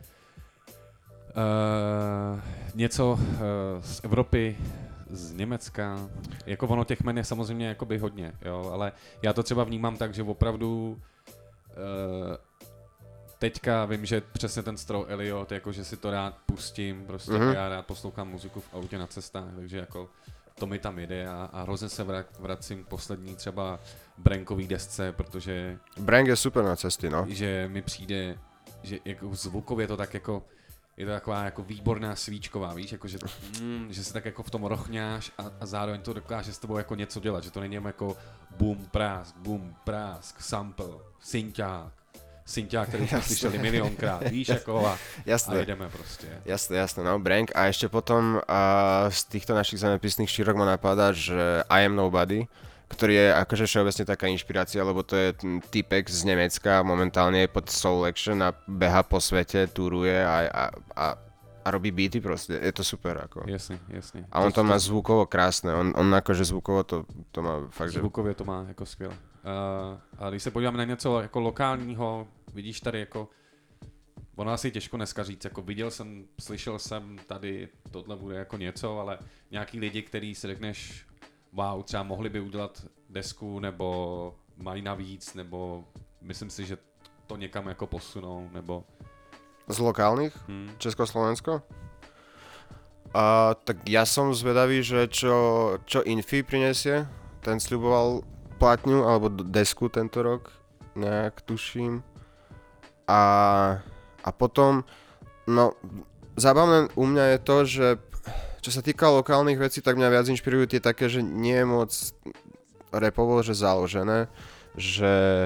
Uh, něco uh, z Evropy, z Německa, jako ono těch men je samozřejmě jakoby hodně, jo, ale já to třeba vnímám tak, že opravdu uh, teďka vím, že přesně ten Stro Elliot, jako že si to rád pustím, prostě mm-hmm. já rád poslouchám muziku v autě na cestách, takže jako to mi tam jde a, a hrozně se vra, vracím k poslední třeba Brankový desce, protože... Brank je super na cesty, no. Že mi přijde, že jako zvukově to tak jako, je to taková jako výborná svíčková, víš, jako že, mm, že se tak jako v tom rochňáš a, a zároveň to dokáže s tebou jako něco dělat, že to není jako boom, prásk, boom, prásk, sample, synťák, synťák, který jsme slyšeli milionkrát, víš, jako a, a jedeme prostě. Jasné, jasné, no, Brank a ešte potom a z týchto našich zemepisných šírok ma napadá, že I Am Nobody, ktorý je akože všeobecne taká inšpirácia, lebo to je typek z Nemecka, momentálne je pod Soul Action a beha po svete, turuje a, a, a, a robí beaty proste, je to super ako. Jasne, jasne. A on to, to má zvukovo krásne, on, on akože zvukovo to, to má fakt, že... Zvukově to má jako skvěle. Uh, a když se podíváme na něco jako lokálního, vidíš tady jako, ono asi těžko dneska říct, jako viděl jsem, slyšel jsem tady, tohle bude jako něco, ale nějaký lidi, který si řekneš, wow, třeba mohli by udělat desku, nebo mají navíc, nebo myslím si, že to někam jako posunou, nebo... Z lokálnych? Hmm. Československo? A, tak ja som zvedavý, že čo, čo Infi prinesie, ten sľuboval platňu alebo desku tento rok, nejak tuším. A A potom, no, zábavné u mňa je to, že čo sa týka lokálnych vecí, tak mňa viac inšpirujú tie také, že nie je moc rapovo, že založené, že,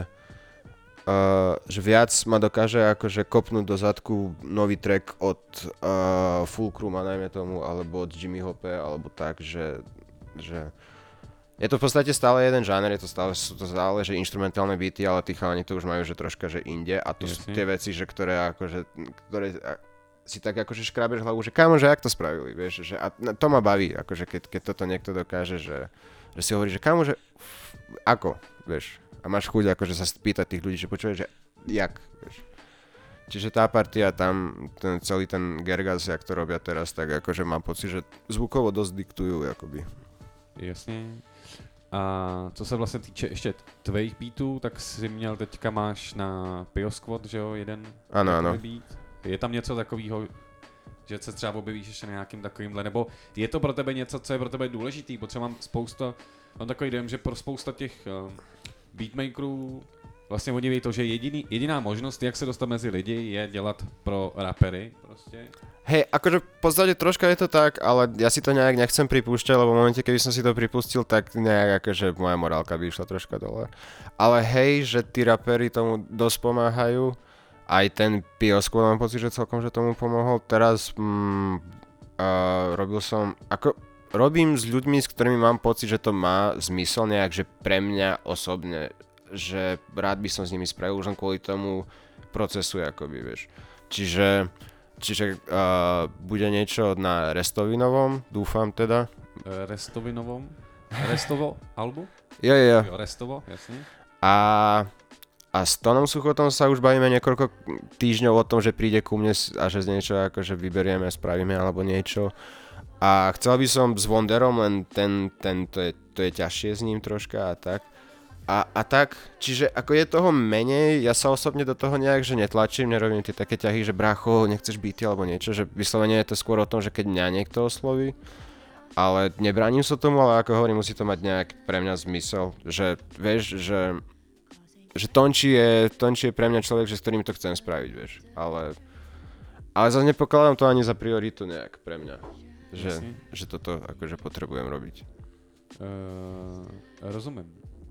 uh, že viac ma dokáže akože kopnúť do zadku nový track od uh, Fulcruma, najmä tomu, alebo od Jimmy Hope, alebo tak, že, že je to v podstate stále jeden žáner, je to stále, sú to stále, že inštrumentálne beaty, ale tí chalani to už majú, že troška, že inde a to Jasne. Sú tie veci, že ktoré akože, ktoré si tak akože škrabeš hlavu, že kámo, že jak to spravili, vieš, že a to ma baví, akože keď, keď toto niekto dokáže, že, že si hovorí, že kámo, že ako, vieš, a máš chuť akože sa spýtať tých ľudí, že počuješ, že jak, vieš. Čiže tá partia tam, ten, celý ten Gergas, jak to robia teraz, tak akože mám pocit, že zvukovo dosť diktujú, akoby. Jasně. A co se vlastně týče ještě tvých beatů, tak si měl teďka máš na Pio Squad, že jo, jeden ano, ano. beat. Je tam něco takového, že se třeba objevíš ještě na nějakým takovýmhle, nebo je to pro tebe něco, co je pro tebe důležitý, protože mám spousta, mám takový dojem, že pro spousta těch uh, beatmakerů vlastně oni ví to, že jediný, jediná možnost, jak se dostat mezi lidi, je dělat pro rapery prostě. Hej, akože v podstate troška je to tak, ale ja si to nejak nechcem pripúšťať, lebo v momente, keby som si to pripustil, tak nejak akože moja morálka by išla troška dole. Ale hej, že tí rapery tomu dosť pomáhajú. Aj ten Pio Squad mám pocit, že celkom, že tomu pomohol. Teraz mm, uh, robil som, ako robím s ľuďmi, s ktorými mám pocit, že to má zmysel nejak, že pre mňa osobne, že rád by som s nimi spravil už len kvôli tomu procesu, akoby, vieš. Čiže, čiže uh, bude niečo na Restovinovom, dúfam teda. Restovinovom? Restovo albu? Jo, jo, jo. Jo, Restovo, jasne. A, a s Tonom Suchotom sa už bavíme niekoľko týždňov o tom, že príde ku mne a že z niečo akože vyberieme, spravíme alebo niečo. A chcel by som s Wonderom, len ten, ten to, je, to je ťažšie s ním troška a tak. A, a tak, čiže ako je toho menej, ja sa osobne do toho nejak, že netlačím, nerobím tie také ťahy, že brácho, nechceš beaty alebo niečo, že vyslovene je to skôr o tom, že keď mňa niekto osloví, ale nebránim sa tomu, ale ako hovorím, musí to mať nejak pre mňa zmysel, že vieš, že, že Tonči je, Tonči je pre mňa človek, že s ktorým to chcem spraviť, vieš, ale, ale zase nepokladám to ani za prioritu nejak pre mňa, že, že toto akože potrebujem robiť. Uh, rozumím.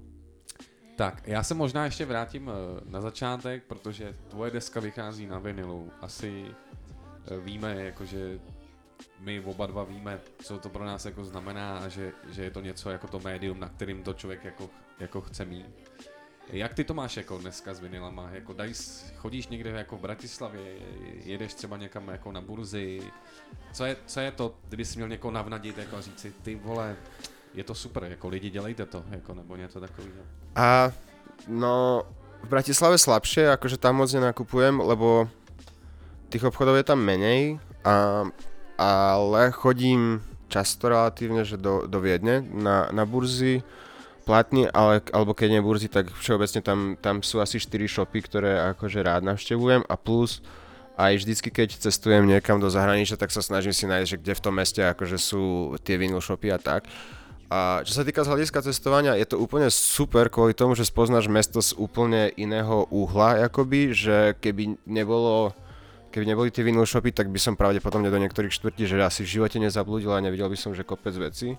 Tak, já se možná ještě vrátím na začátek, protože tvoje deska vychází na vinilu. Asi víme, jakože my oba dva víme, co to pro nás jako znamená a že, že je to něco jako to médium, na kterým to člověk jako, jako chce mít. Jak ty to máš jako dneska s vinilama? Jako daj, chodíš někde jako v Bratislavě, jedeš třeba někam jako na burzi? Co je, co je to, kdyby jsi měl někoho navnadit jako říct si, ty vole, je to super, jako lidi dělejte to, jako, nebo něco takového. A no, v Bratislave slabšie, akože tam moc nenakupujem, lebo tých obchodov je tam menej, a, ale chodím často relatívne, že do, do Viedne na, na burzy platný, ale, alebo keď nie burzy, tak všeobecne tam, tam sú asi štyri shopy, ktoré akože rád navštevujem a plus aj vždycky, keď cestujem niekam do zahraničia, tak sa snažím si nájsť, že kde v tom meste akože sú tie vinyl shopy a tak. A čo sa týka z hľadiska cestovania, je to úplne super kvôli tomu, že spoznáš mesto z úplne iného uhla, akoby, že keby nebolo, keby neboli tie vinyl shopy, tak by som pravdepodobne do niektorých štvrtí, že asi v živote nezablúdil a nevidel by som, že kopec vecí.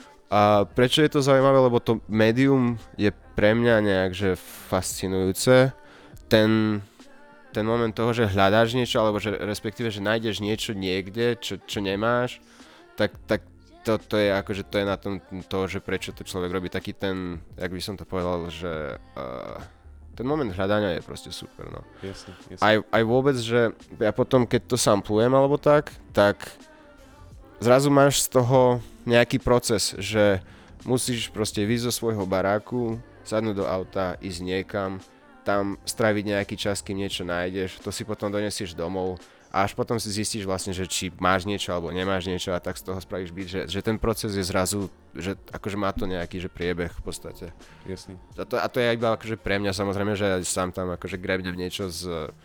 A prečo je to zaujímavé, lebo to médium je pre mňa nejak, že fascinujúce. Ten, ten moment toho, že hľadáš niečo, alebo že respektíve, že nájdeš niečo niekde, čo, čo nemáš, tak, tak To, to je akože to je na tom to, že prečo to človek robí taký ten, jak by som to povedal, že uh, ten moment hľadania je proste super, no. Jasne, jasne. Aj, aj vôbec, že ja potom, keď to samplujem alebo tak, tak zrazu máš z toho nejaký proces, že musíš proste vyjsť zo svojho baráku, sadnúť do auta, ísť niekam, tam stráviť nejaký čas, kým niečo nájdeš, to si potom donesieš domov, a až potom si zistíš vlastne, že či máš niečo alebo nemáš niečo a tak z toho spravíš beat, že, že ten proces je zrazu, že akože má to nejaký že priebeh v podstate. Jasný. A to, a to je iba akože pre mňa samozrejme, že ja sám tam akože grebnem niečo z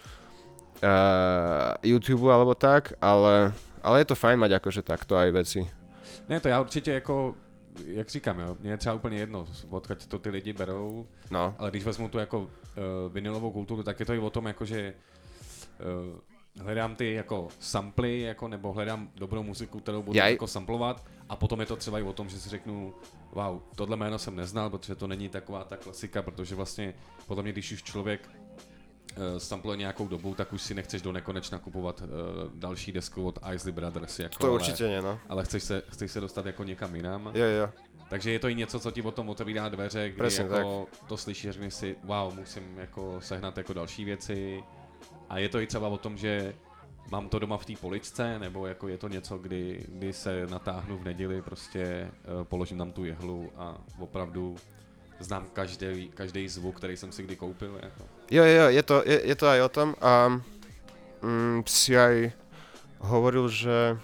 uh, YouTube alebo tak, ale, ale je to fajn mať akože takto aj veci. Ne, to já určitě jako, jak říkám, jo, mně je třeba úplně jedno, odkud to ty lidi berou, no. Ale když vezmu tu jako uh, vinilovou kulturu, tak je to i o tom, jako že uh, hledám ty jako samply, jako, nebo hledám dobrou muziku, kterou budu Jaj. jako samplovat a potom je to třeba i o tom, že si řeknu, wow, tohle jméno jsem neznal, protože to není taková ta klasika, protože vlastně podle mě, když už člověk uh, sampluje nějakou dobu, tak už si nechceš do nekonečna kupovat uh, další desku od Isley Brothers. Jako, To určitě ne, no. Ale chceš se, chceš se dostat jako někam jinam. Jo, jo. Takže je to i něco, co ti o tom otevírá dveře, kdy Presne jako to slyšíš a řekneš si, wow, musím jako sehnat jako další věci. A je to i třeba o tom, že mám to doma v té poličce, nebo jako je to něco, kdy, kdy se natáhnu v neděli, prostě uh, položím tam tu jehlu a opravdu znám každý, každý zvuk, který jsem si kdy koupil. Jako. Jo, jo, je to, je, je to aj o tom a mm, si aj hovoril, že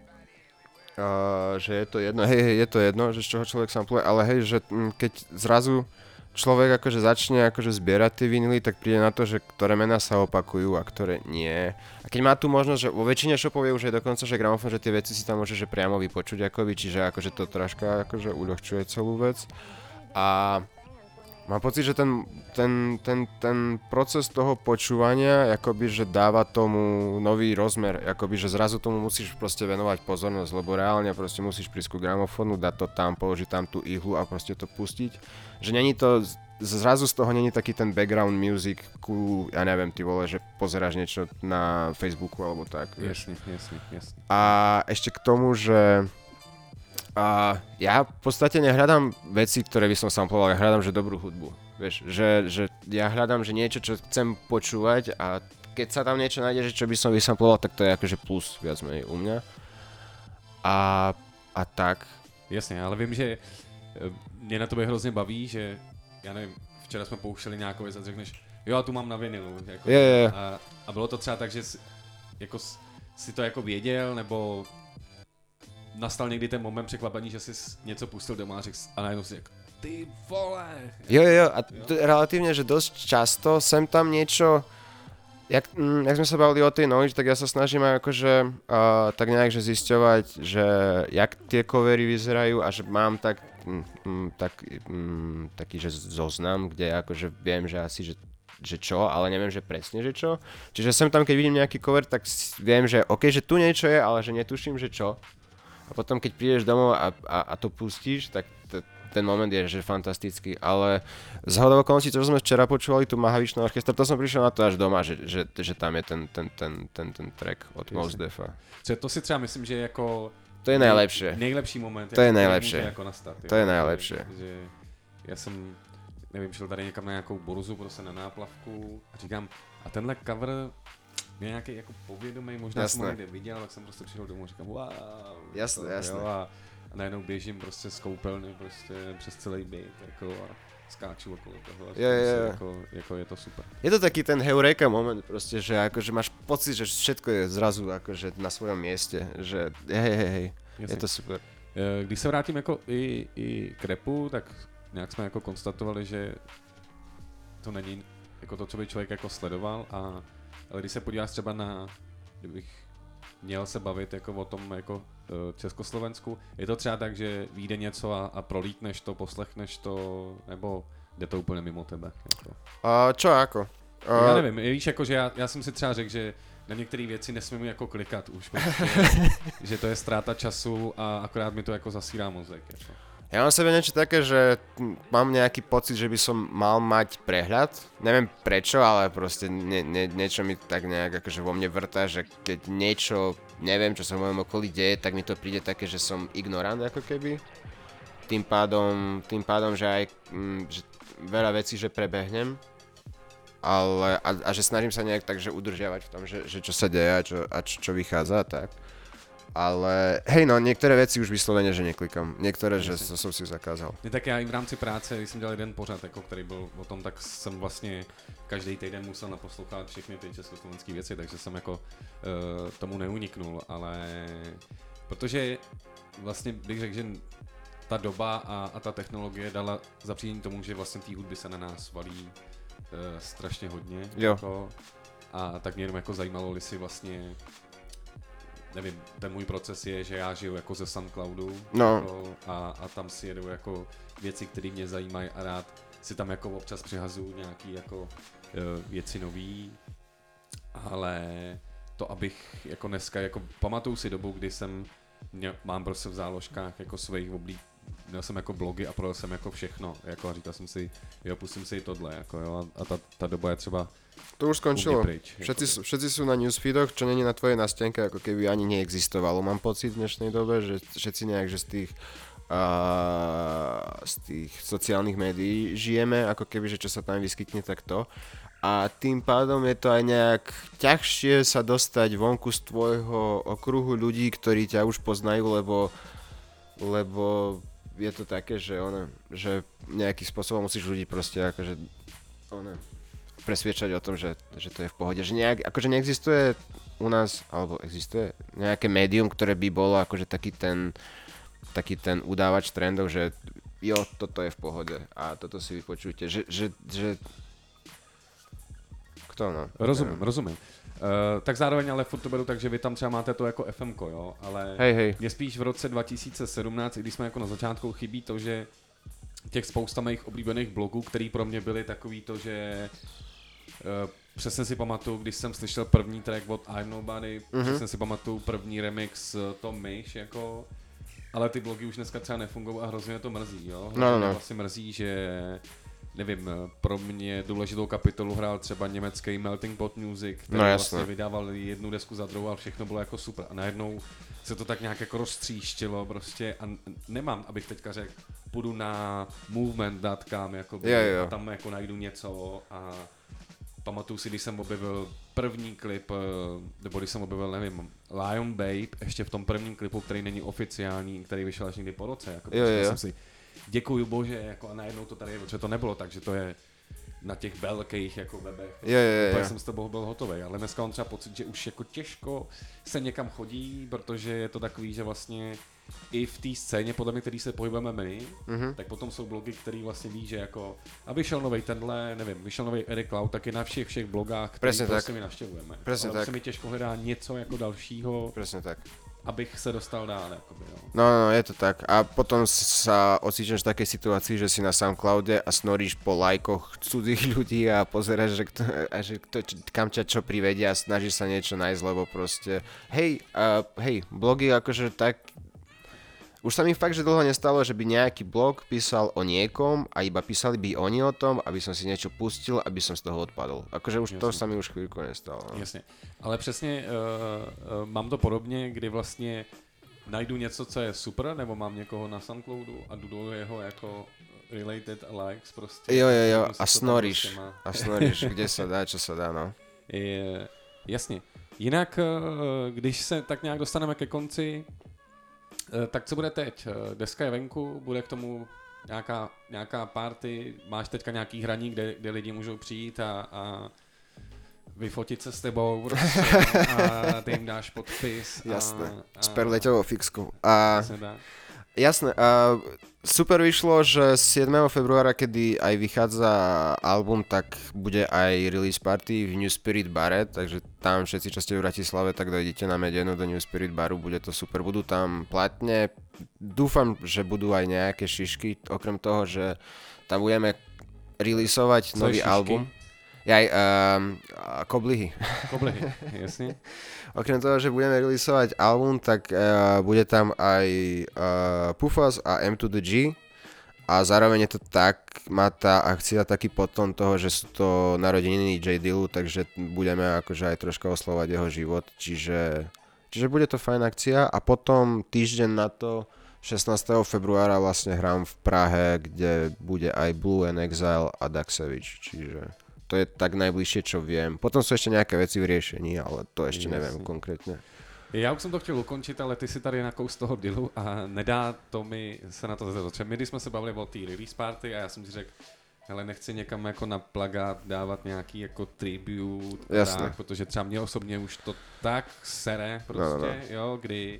Uh, že je to jedno, hej, hej, je to jedno, že z čoho človek sampluje, ale hej, že m, keď zrazu človek akože začne akože zbierať tie vinily, tak príde na to, že ktoré mená sa opakujú a ktoré nie. A keď má tu možnosť, že vo väčšine shopov je už aj dokonca, že gramofón, že tie veci si tam môže že priamo vypočuť akoby, čiže akože to troška akože uľahčuje celú vec. A mám pocit, že ten, ten, ten, ten proces toho počúvania akoby, že dáva tomu nový rozmer, akoby, že zrazu tomu musíš proste venovať pozornosť, lebo reálne proste musíš prísť ku gramofónu, dať to tam, položiť tam tú ihlu a proste to pustiť. Že není to, zrazu z toho není taký ten background music ku, ja neviem, ty vole, že pozeráš niečo na Facebooku alebo tak, vieš. Jasne, jasne, jasne. A ešte k tomu, že a ja v podstate nehľadám veci, ktoré by som samploval, ja hľadám, že dobrú hudbu. Vieš, že, že ja hľadám, že niečo, čo chcem počúvať a keď sa tam niečo nájde, že čo by som vysamploval, tak to je akože plus viac menej u mňa. A, a tak. Jasně, ale vím, že mě na tobě hrozně baví, že já nevím, včera jsme pouštěli nějakou věc a řekneš, jo, a tu mám na vinilu. Jako, je, je, je. A, a bylo to třeba tak, že jsi, jako, si to jako věděl, nebo nastal někdy ten moment překvapení, že jsi něco pustil doma a řekl a najednou si řekl, ty vole. Jo, jo, jo, a t- relatívne, že dosť často sem tam niečo, jak, mm, jak sme sa bavili o tej knowledge, tak ja sa snažím aj akože uh, tak nejak že zisťovať, že jak tie covery vyzerajú a že mám tak, mm, mm, tak mm, taký, že zoznam, kde akože viem, že asi, že že čo, ale neviem, že presne, že čo. Čiže sem tam, keď vidím nejaký cover, tak viem, že ok, že tu niečo je, ale že netuším, že čo. A potom, keď prídeš domov a, a, a to pustíš, tak t- ten moment je, že fantastický, ale z hodou okolností, čo sme včera počúvali, tu Mahavishnu orchestra, to som prišiel na to až doma, že, že, že tam je ten, ten, ten, ten, ten track od Mos Defa. To si třeba myslím, že jako... To je nejlepší. Nejlepší moment. To je nejlepší. Jako nastat, to je nejlepší. Že, že já jsem, nevím, šel tady někam na nějakou borzu, prostě na náplavku a říkám, a tenhle cover mě nějaký jako povědomý, možná jasné. jsem ho někde viděl, tak jsem prostě přišel domů a říkám, wow. Jasné, to, jasné. Jo, a, a najednou běžím prostě z koupelny prostě přes celý byt jako a skáču okolo toho. Je, je, je. Jako, jako je to super. Je to taký ten heureka moment proste, že akože máš pocit, že všetko je zrazu akože na svojom mieste, že hej, hej, hej, je to super. Když se vrátím jako i, i k rapu, tak nějak jsme jako konstatovali, že to není jako to, co by člověk jako sledoval, a, ale když se podíváš třeba na, kdybych měl se bavit jako o tom jako Československu, je to třeba tak, že vyjde něco a, a prolítneš to, poslechneš to, nebo jde to úplně mimo tebe? Jako? A čo ako? A... Já nevím, víš, jako, že já, já jsem si třeba řekl, že na některé věci nesmím jako klikat už, prostě, že to je ztráta času a akorát mi to jako zasírá mozek. Jako. Ja mám sebe niečo také, že mám nejaký pocit, že by som mal mať prehľad. Neviem prečo, ale proste nie, nie, niečo mi tak nejak akože vo mne vrta, že keď niečo neviem, čo sa v mojom okolí deje, tak mi to príde také, že som ignorant ako keby. Tým pádom, tým pádom že aj mm, že veľa vecí, že prebehnem. Ale, a, a že snažím sa nejak tak, že udržiavať v tom, že, že čo sa deje a čo, a čo, čo vychádza a tak. Ale hej no, některé věci už vysloveně, že neklikám. Některé, že to jsem si zakázal. Ne, tak já i v rámci práce, když jsem dělal jeden pořad, jako, který byl o tom, tak jsem vlastně každý týden musel naposlouchat všechny ty československé věci, takže jsem jako uh, tomu neuniknul, ale protože vlastně bych řekl, že ta doba a, a ta technologie dala zapříčení tomu, že vlastně té hudby se na nás valí uh, strašně hodně. Jo. Jako, a tak mě jenom jako zajímalo, jestli vlastně nevím, ten můj proces je, že já žiju jako ze SoundCloudu no. jako, a, a tam si jedu jako věci, které mě zajímají a rád si tam jako občas přihazuju nějaký jako uh, věci nový ale to, abych jako dneska, jako pamatuju si dobu, kdy jsem, mě, mám prostě v záložkách jako svých oblíb, měl jsem jako blogy a projel jsem jako všechno, jako a říkal jsem si, jo, pustím si i tohle, jako jo, a ta, ta doba je třeba to už skončilo. Pryč, všetci, jako. všetci sú na newsfeedoch, čo není na tvojej nástenke, ako keby ani neexistovalo. Mám pocit v dnešnej dobe, že všetci nejak, že z tých uh, z tých sociálnych médií žijeme, ako keby, že čo sa tam vyskytne, tak to. A tým pádom je to aj nejak ťažšie sa dostať vonku z tvojho okruhu ľudí, ktorí ťa už poznajú, lebo lebo je to také, že ono, že nejakým spôsobom musíš ľudí proste akože ono, presviečať o tom, že, že to je v pohode. Že nejak, akože neexistuje u nás, alebo existuje nejaké médium, ktoré by bolo akože taký ten, taký ten udávač trendov, že jo, toto je v pohode a toto si vypočujte. Že, že, že... Kto no? Rozumím, ja. rozumím. Uh, tak zároveň ale furt to beru tak, že vy tam třeba máte to jako ef emko, jo, ale hej, hej. mě spíš v roce dva tisíce sedmnáct, i když jsme jako na začátku, chybí to, že těch spousta mých oblíbených blogů, který pro mě byly takový to, že uh, přesně si pamatuju, když jsem slyšel první track od I'm Nobody, mm-hmm. přesně si pamatuju první remix Tom Myš, jako, ale ty blogy už dneska třeba nefungují a hrozně to mrzí, jo, hrozně no, no. vlastně mrzí, že nevím, pro mě důležitou kapitolu hrál třeba německý Melting Pot Music, který no, vlastně vydával jednu desku za druhou a všechno bylo jako super. A najednou se to tak nějak jako roztříštilo prostě a nemám, abych teďka řekl, půjdu na movement tečka com jako a tam jako najdu něco a pamatuju si, když jsem objevil první klip, nebo když jsem objevil, nevím, Lion Babe, ještě v tom prvním klipu, který není oficiální, který vyšel až někdy po roce, jako jo, jo. jsem si děkuju bože, jako a najednou to tady je, protože to nebylo tak, že to je na těch velkých jako webech. Jo, jo, jo. Já jsem z toho byl hotový, ale dneska mám třeba pocit, že už jako těžko se někam chodí, protože je to takový, že vlastně i v té scéně, podle mě, který se pohybujeme my, mm-hmm. tak potom jsou blogy, který vlastně ví, že jako, a vyšel novej tenhle, nevím, vyšel novej Eric Cloud, tak je na všech všech blogách, který prostě my navštěvujeme. Presne ale tak. se mi těžko hledá něco jako dalšího. Presne tak. Abych se dostal dál, jakoby, jo. No, no, je to tak. A potom sa ocíčaš v takej situácii, že si na Soundcloude a snoríš po lajkoch cudzích ľudí a pozeráš, že, kto, a že kto, kam ťa čo privedia a snažíš sa niečo nájsť, lebo proste hej, uh, hej, blogy akože tak. Už sa mi fakt, že dlho nestalo, že by nejaký blog písal o niekom a iba písali by oni o tom, aby som si niečo pustil, aby som z toho odpadol. Akože už jasne. To sa mi už chvíľku nestalo. No. Jasně, ale přesně uh, uh, mám to podobně, kdy vlastně najdu něco, co je super, nebo mám někoho na Soundcloudu a jdu do jeho jako related a likes prostě. Jo, jo, jo, a snoríš, a snoríš, kde sa dá, čo sa dá, no. Je, jasně. Jinak, uh, když se tak nějak dostaneme ke konci, tak co bude teď? Deska je venku, bude k tomu nějaká, nějaká party, máš teďka nějaký hraní, kde, kde lidi můžou přijít a, a vyfotit se s tebou prostě, a ty jim dáš podpis. Jasné, a, s perleťovou fixkou. A... Dá. Jasné, a super vyšlo, že siedmeho februára, kedy aj vychádza album, tak bude aj release party v New Spirit bare, takže tam všetci, čo ste v Bratislave, tak dojdete na Medenu do New Spirit baru, bude to super, budú tam platne, dúfam, že budú aj nejaké šišky, okrem toho, že tam budeme releaseovať nový album. Jaj, um, koblihy. Koblihy, jasne. Okrem toho, že budeme releaseovať album, tak uh, bude tam aj uh, Pufas a M to the G a zároveň je to tak, má tá akcia taký potom toho, že sú to narodeniny J Dillu, takže budeme akože aj troška oslovať jeho život, čiže, čiže bude to fajn akcia a potom týždeň na to šestnásteho februára vlastne hrám v Prahe, kde bude aj Blue and Exile a Daxevich, čiže to je tak najbližšie, čo viem. Potom sú ešte nejaké veci v riešení, ale to ešte Jasný. neviem konkrétne. Já už jsem to chtěl ukončit, ale ty si tady nakous toho Dillu a nedá to mi se na to zatočit. My když jsme se bavili o té release party a já jsem si řekl, hele, nechci někam jako na plagát dávat nějaký jako tribute, tak, protože třeba mě osobně už to tak sere prostě, no, no. jo, kdy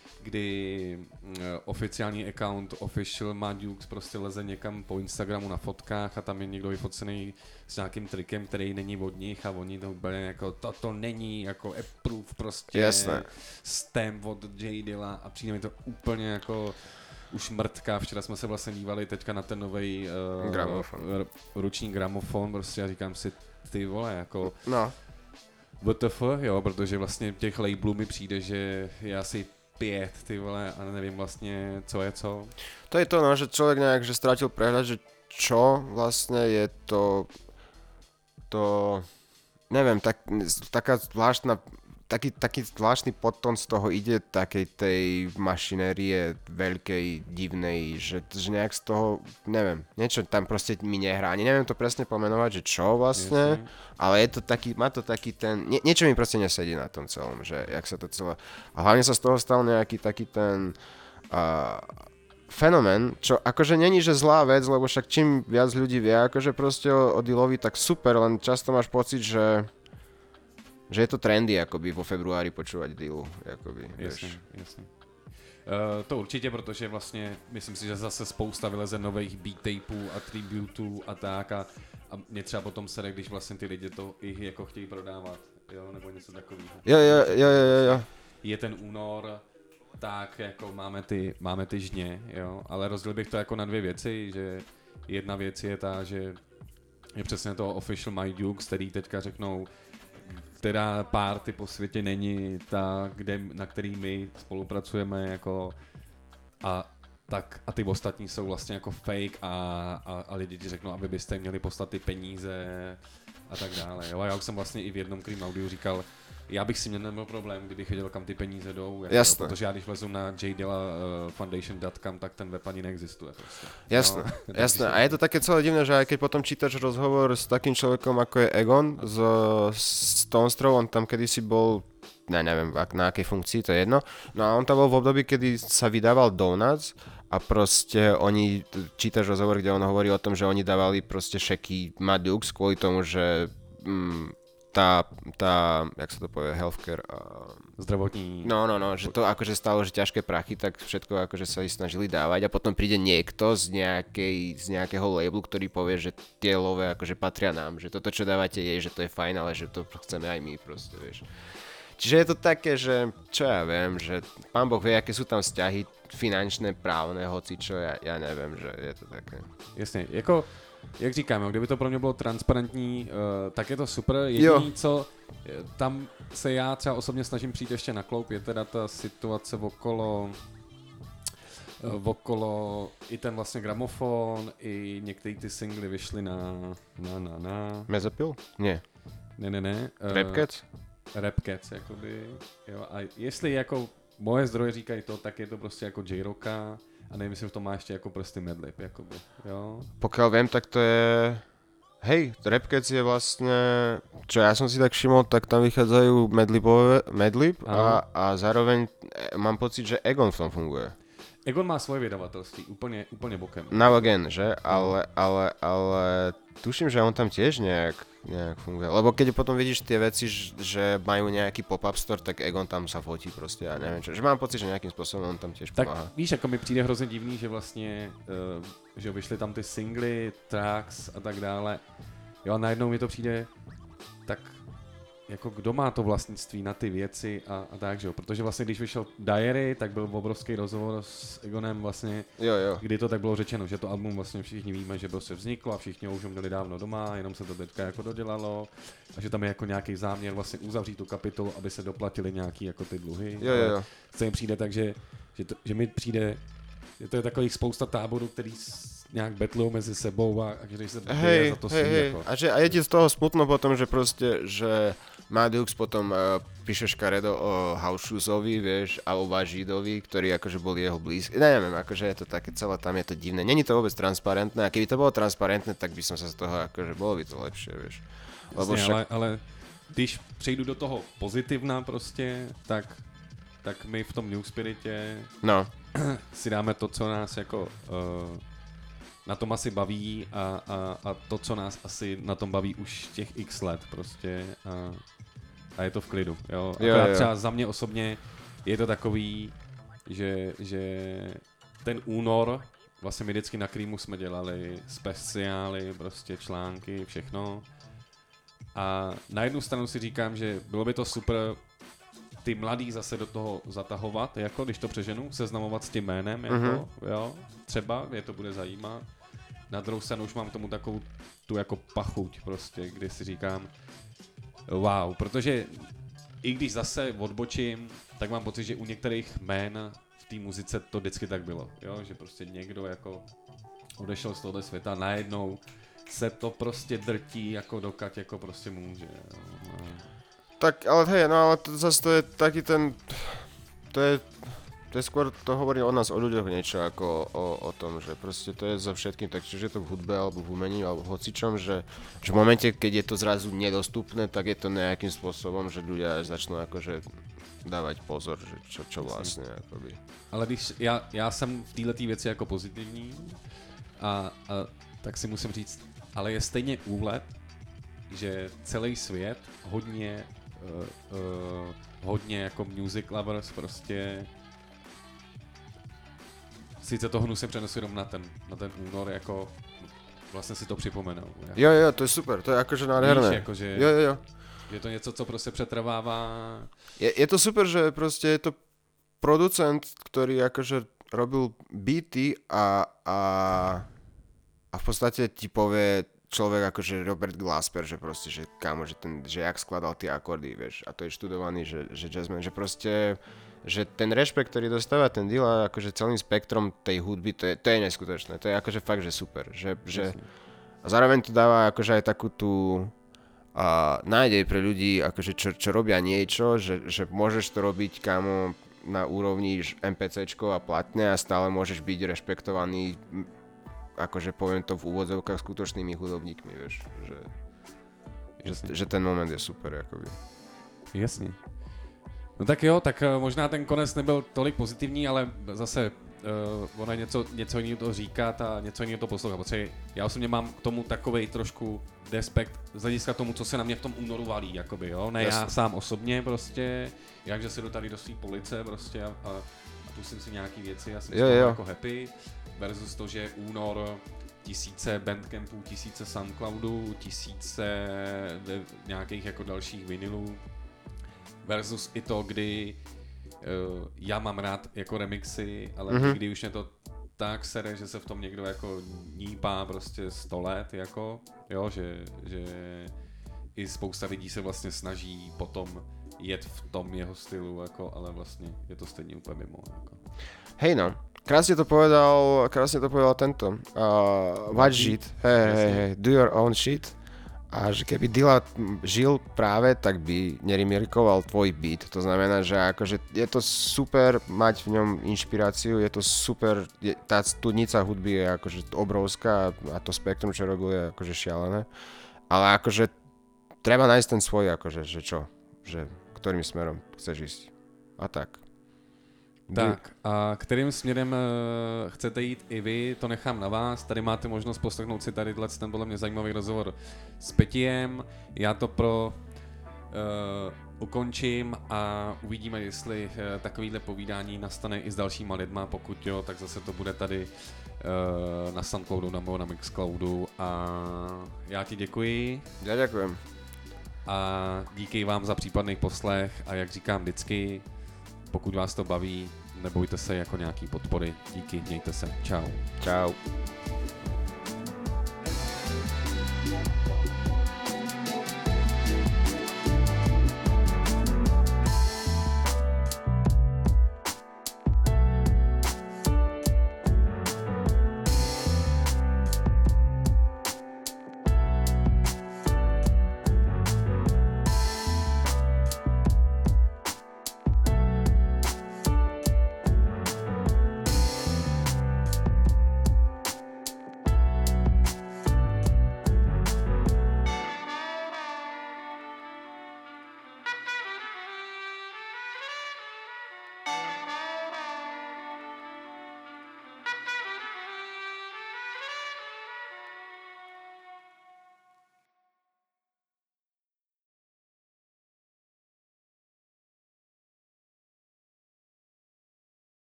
kdy uh, oficiální account Official Madukes prostě leze někam po Instagramu na fotkách a tam je někdo vyfocený s nějakým trikem, který není od nich a oni to úplně jako toto není jako approve prostě. Jasné. Stamp od J Dilla a přijde mi to úplně jako už mrtká. Včera jsme se vlastně dívali teďka na ten novej uh, gramofon. ruční gramofon prostě a říkám si, ty vole, jako no. W T F, jo, protože vlastně těch labelů mi přijde, že je asi pět, ty vole, a nevím vlastně, co je co. To je to, no, že človek nejak, že strátil prehľad, že čo vlastne je to, to, neviem, tak, taká zvláštna, taký, taký zvláštny podtón z toho ide, takej tej mašinérie veľkej, divnej, že, že nejak z toho, neviem, niečo tam proste mi nehrá, ani neviem to presne pomenovať, že čo vlastne, yes, ale je to taký, má to taký ten, nie, niečo mi proste nesedí na tom celom, že jak sa to celé, a hlavne sa z toho stal nejaký taký ten uh, fenomén, čo akože není, že zlá vec, lebo však čím viac ľudí vie, akože proste o, o dealovi, tak super, len často máš pocit, že že je to trendy, akoby vo februári počúvať dealu, akoby, jasně, jasně. Uh, to určitě, protože vlastně myslím si, že zase spousta vyleze nových beat tapeů a tributů a tak a, a mě třeba potom sere, když vlastně ty lidi to i jako chtějí prodávat, jo, nebo něco takového. Jo, jo, jo, jo, jo. Je ten únor, tak jako máme ty, máme ty žně, jo, ale rozdělil bych to jako na dvě věci, že jedna věc je ta, že je přesně to official My Dukes, který teďka řeknou, která party po světě není ta, kde, na který my spolupracujeme jako a tak a ty ostatní jsou vlastně jako fake a, a, a lidi ti řeknou, aby byste měli poslat ty peníze a tak dále. Jo? A já už jsem vlastně i v jednom Cream Audiu říkal, já bych si měl neměl problém, kdybych věděl, kam ty peníze jdou, jako, jasné. Protože já když vlezu na j dilla foundation tečka com, tak ten web ani neexistuje. Prostě. Jasné, no, jasné. A je to také celé divné, že aj keď potom čítaš rozhovor s takým človekom ako je Egon z Stone Throw, on tam kedysi bol, ne, neviem na akej funkcii, to je jedno, no a on tam bol v období, kedy sa vydával Donuts a proste oni, čítaš rozhovor, kde on hovorí o tom, že oni dávali proste šeky Mad Dukes kvôli tomu, že mm, tá, tá, jak sa to povie, healthcare a... zdravotní... No, no, no, že to akože stalo, že ťažké prachy, tak všetko akože sa ich snažili dávať a potom príde niekto z, nejakej, z nejakého labelu, ktorý povie, že tie love akože patria nám, že toto, čo dávate je, že to je fajn, ale že to chceme aj my proste, vieš. Čiže je to také, že čo ja viem, že pán Boh vie, aké sú tam vzťahy finančné, právne, hoci čo, ja, ja neviem, že je to také. Jasne, jako... Jak říkám, kdyby to pro mě bylo transparentní, uh, tak je to super. Jediný, co tam se já třeba osobně snažím přijít ještě na kloup, je teda ta situace okolo, uh, okolo i ten vlastně gramofon, i některé ty singly vyšly na, na, na, na. Mezopil? Ne. Ne, ne, ne. Uh, Rap Cats? Rap Cats, jakoby. Jo, a jestli jako moje zdroje říkají to, tak je to prostě jako J-Rocka. A nevím, jestli v tom má ještě jako prsty Madlib, jakoby, jo. Pokiaľ viem, tak to je... Hej, Rap Cats je vlastne... Čo ja som si tak všimol, tak tam vychádzajú Madlibové, Madlib a, a zároveň mám pocit, že Egon v tom funguje. Egon má svoje vydavatelství, úplne, úplne bokem. Now Again, že? Ale, ale, ale tuším, že on tam tiež nejak, nejak funguje. Lebo keď potom vidíš tie veci, že majú nejaký pop-up store, tak Egon tam sa fotí proste, ja neviem čo. Že mám pocit, že nejakým spôsobom on tam tiež pomáha. Tak víš, ako mi přijde hrozně divný, že vlastně, uh, že vyšly tam ty singly, tracks a tak dále. Jo a najednou mi to přijde tak jako kdo má to vlastnictví na ty věci a, a tak, že jo, protože vlastně když vyšel Diary, tak byl obrovský rozhovor s Egonem vlastně, jo, jo. kdy to tak bylo řečeno, že to album vlastně všichni víme, že prostě vzniklo a všichni ho už měli dávno doma, jenom se to teďka jako dodělalo a že tam je jako nějaký záměr vlastně uzavřít tu kapitolu, aby se doplatili nějaký jako ty dluhy. Jo, jo, jo. Co jim přijde tak, že, že, to, že mi přijde, že to je takových spousta táborů, který nějak betlují mezi sebou a, a když se hej, za to hej, svý, hej. jako. A, že, a je ti z toho smutno potom, že proste, že Mad Dukes potom uh, píše škaredo o House Shoesovi, vieš, a o Važidovi, ktorí akože boli jeho blízky. Neviem, akože je to také celé, tam je to divné. Není to vôbec transparentné a keby to bolo transparentné, tak by som sa z toho, akože bolo by to lepšie, vieš. Lebo Jasně, však... ale, ale když přejdu do toho pozitivna prostě, tak, tak my v tom New Spiritě no. si dáme to, co nás jako uh, na tom asi baví a, a, a to, co nás asi na tom baví už těch x let prostě a, a je to v klidu, jo. Akorát třeba za mě osobně je to takový, že, že ten únor, vlastně my vždycky na Creamu jsme dělali speciály, prostě články, všechno. A na jednu stranu si říkám, že bylo by to super ty mladý zase do toho zatahovat, jako když to přeženu, seznamovat s tím jménem, jako, mm-hmm. jo, třeba, mě to bude zajímat. Na druhou stranu už mám tomu takovou tu jako pachuť prostě, kdy si říkám, wow, protože i když zase odbočím, tak mám pocit, že u některých jmén v té muzice to vždycky tak bylo, jo? Že prostě někdo jako odešel z tohoto světa, najednou se to prostě drtí jako dokud jako prostě může. Jo? Tak, ale hej, no ale to, zase to je taký ten, to je, to je skôr, to hovorí o nás, o ľuďoch niečo ako o, o tom, že proste to je za všetkým, tak čiže je to v hudbe alebo v umení alebo v hocičom, že, že v momente, keď je to zrazu nedostupné, tak je to nejakým spôsobom, že ľudia začnú akože dávať pozor, že čo, čo vlastne akoby. Ale když já, já jsem v této věci jako pozitivní a, a tak si musím říct, ale je stejně úlet, že celý svět hodně uh, uh, hodně jako music lovers prostě sice to hnusem přenesu jenom na ten, na ten únor, jako vlastně si to připomenou. Jako. Jo, jo, to je super, to je akože nádherné. Víš, jakože, jo, jo, jo. Je to něco, co prostě přetrvává. Je, je to super, že prostě je to producent, ktorý akože robil beaty a, a, a v podstate ti povie človek akože Robert Glasper, že proste, že kámo, že, ten, že jak skladal tie akordy, vieš, a to je študovaný, že, že jazzman, že proste, že ten rešpekt, ktorý dostáva ten Dilla akože celým spektrom tej hudby, to je, to je neskutočné, to je akože fakt, že super, že, že a zároveň to dáva akože aj takú tú a nádej pre ľudí, akože čo, čo robia niečo, že, že môžeš to robiť, kámo, na úrovni MPCčko a platne a stále môžeš byť rešpektovaný, akože poviem to v úvodzovkách, skutočnými hudobníkmi, vieš, že, že, že ten moment je super, akoby. Jasně. No tak jo, tak možná ten konec nebyl tolik pozitivní, ale zase uh, ono je něco, něco jiného to říkat a něco jiného to poslouchat, protože já osobně mám k tomu takovej trošku respekt z hlediska tomu, co se na mě v tom únoru valí, jakoby, jo, ne Jasne. Já sám osobně prostě, jakže si jdu tady do svý police prostě a, a, a pustím si nějaký věci, já jsem jo, jo. jako happy, versus to, že únor, tisíce bandcampů, tisíce Soundcloudů, tisíce nějakých jako dalších vinylů, versus i to, kdy uh, já mám rád jako remixy, ale mm-hmm. kdy už mě to tak sere, že se v tom někdo jako nípá prostě sto let, jako, jo, že, že i spousta lidí se vlastně snaží potom jet v tom jeho stylu, jako, ale vlastně je to stejně úplně mimo, jako. Hej no, krásne to povedal, krásne to povedal tento, uh, watch shit, hej, hej, hej, do your own shit. A že keby Dilla žil práve, tak by nerimikoval tvoj beat. To znamená, že akože je to super mať v ňom inšpiráciu, je to super, je, tá studnica hudby je akože obrovská a to spektrum, čo robil, je akože šialené. Ale akože treba nájsť ten svoj, akože, že čo, že ktorým smerom chceš ísť. A tak. Tak a kterým směrem uh, chcete jít i vy, to nechám na vás. Tady máte možnost poslechnout si tady ten podle mě zajímavý rozhovor s Petiem. Já to pro uh, ukončím a uvidíme, jestli uh, takovýhle povídání nastane i s dalšíma lidma. Pokud jo, tak zase to bude tady uh, na Soundcloudu nebo na Mixcloudu. A já ti děkuji. Já děkujem. A díky vám za případný poslech a jak říkám vždycky, pokud vás to baví, nebojte se jako nějaký podpory. Díky, mějte se. Čau. Čau.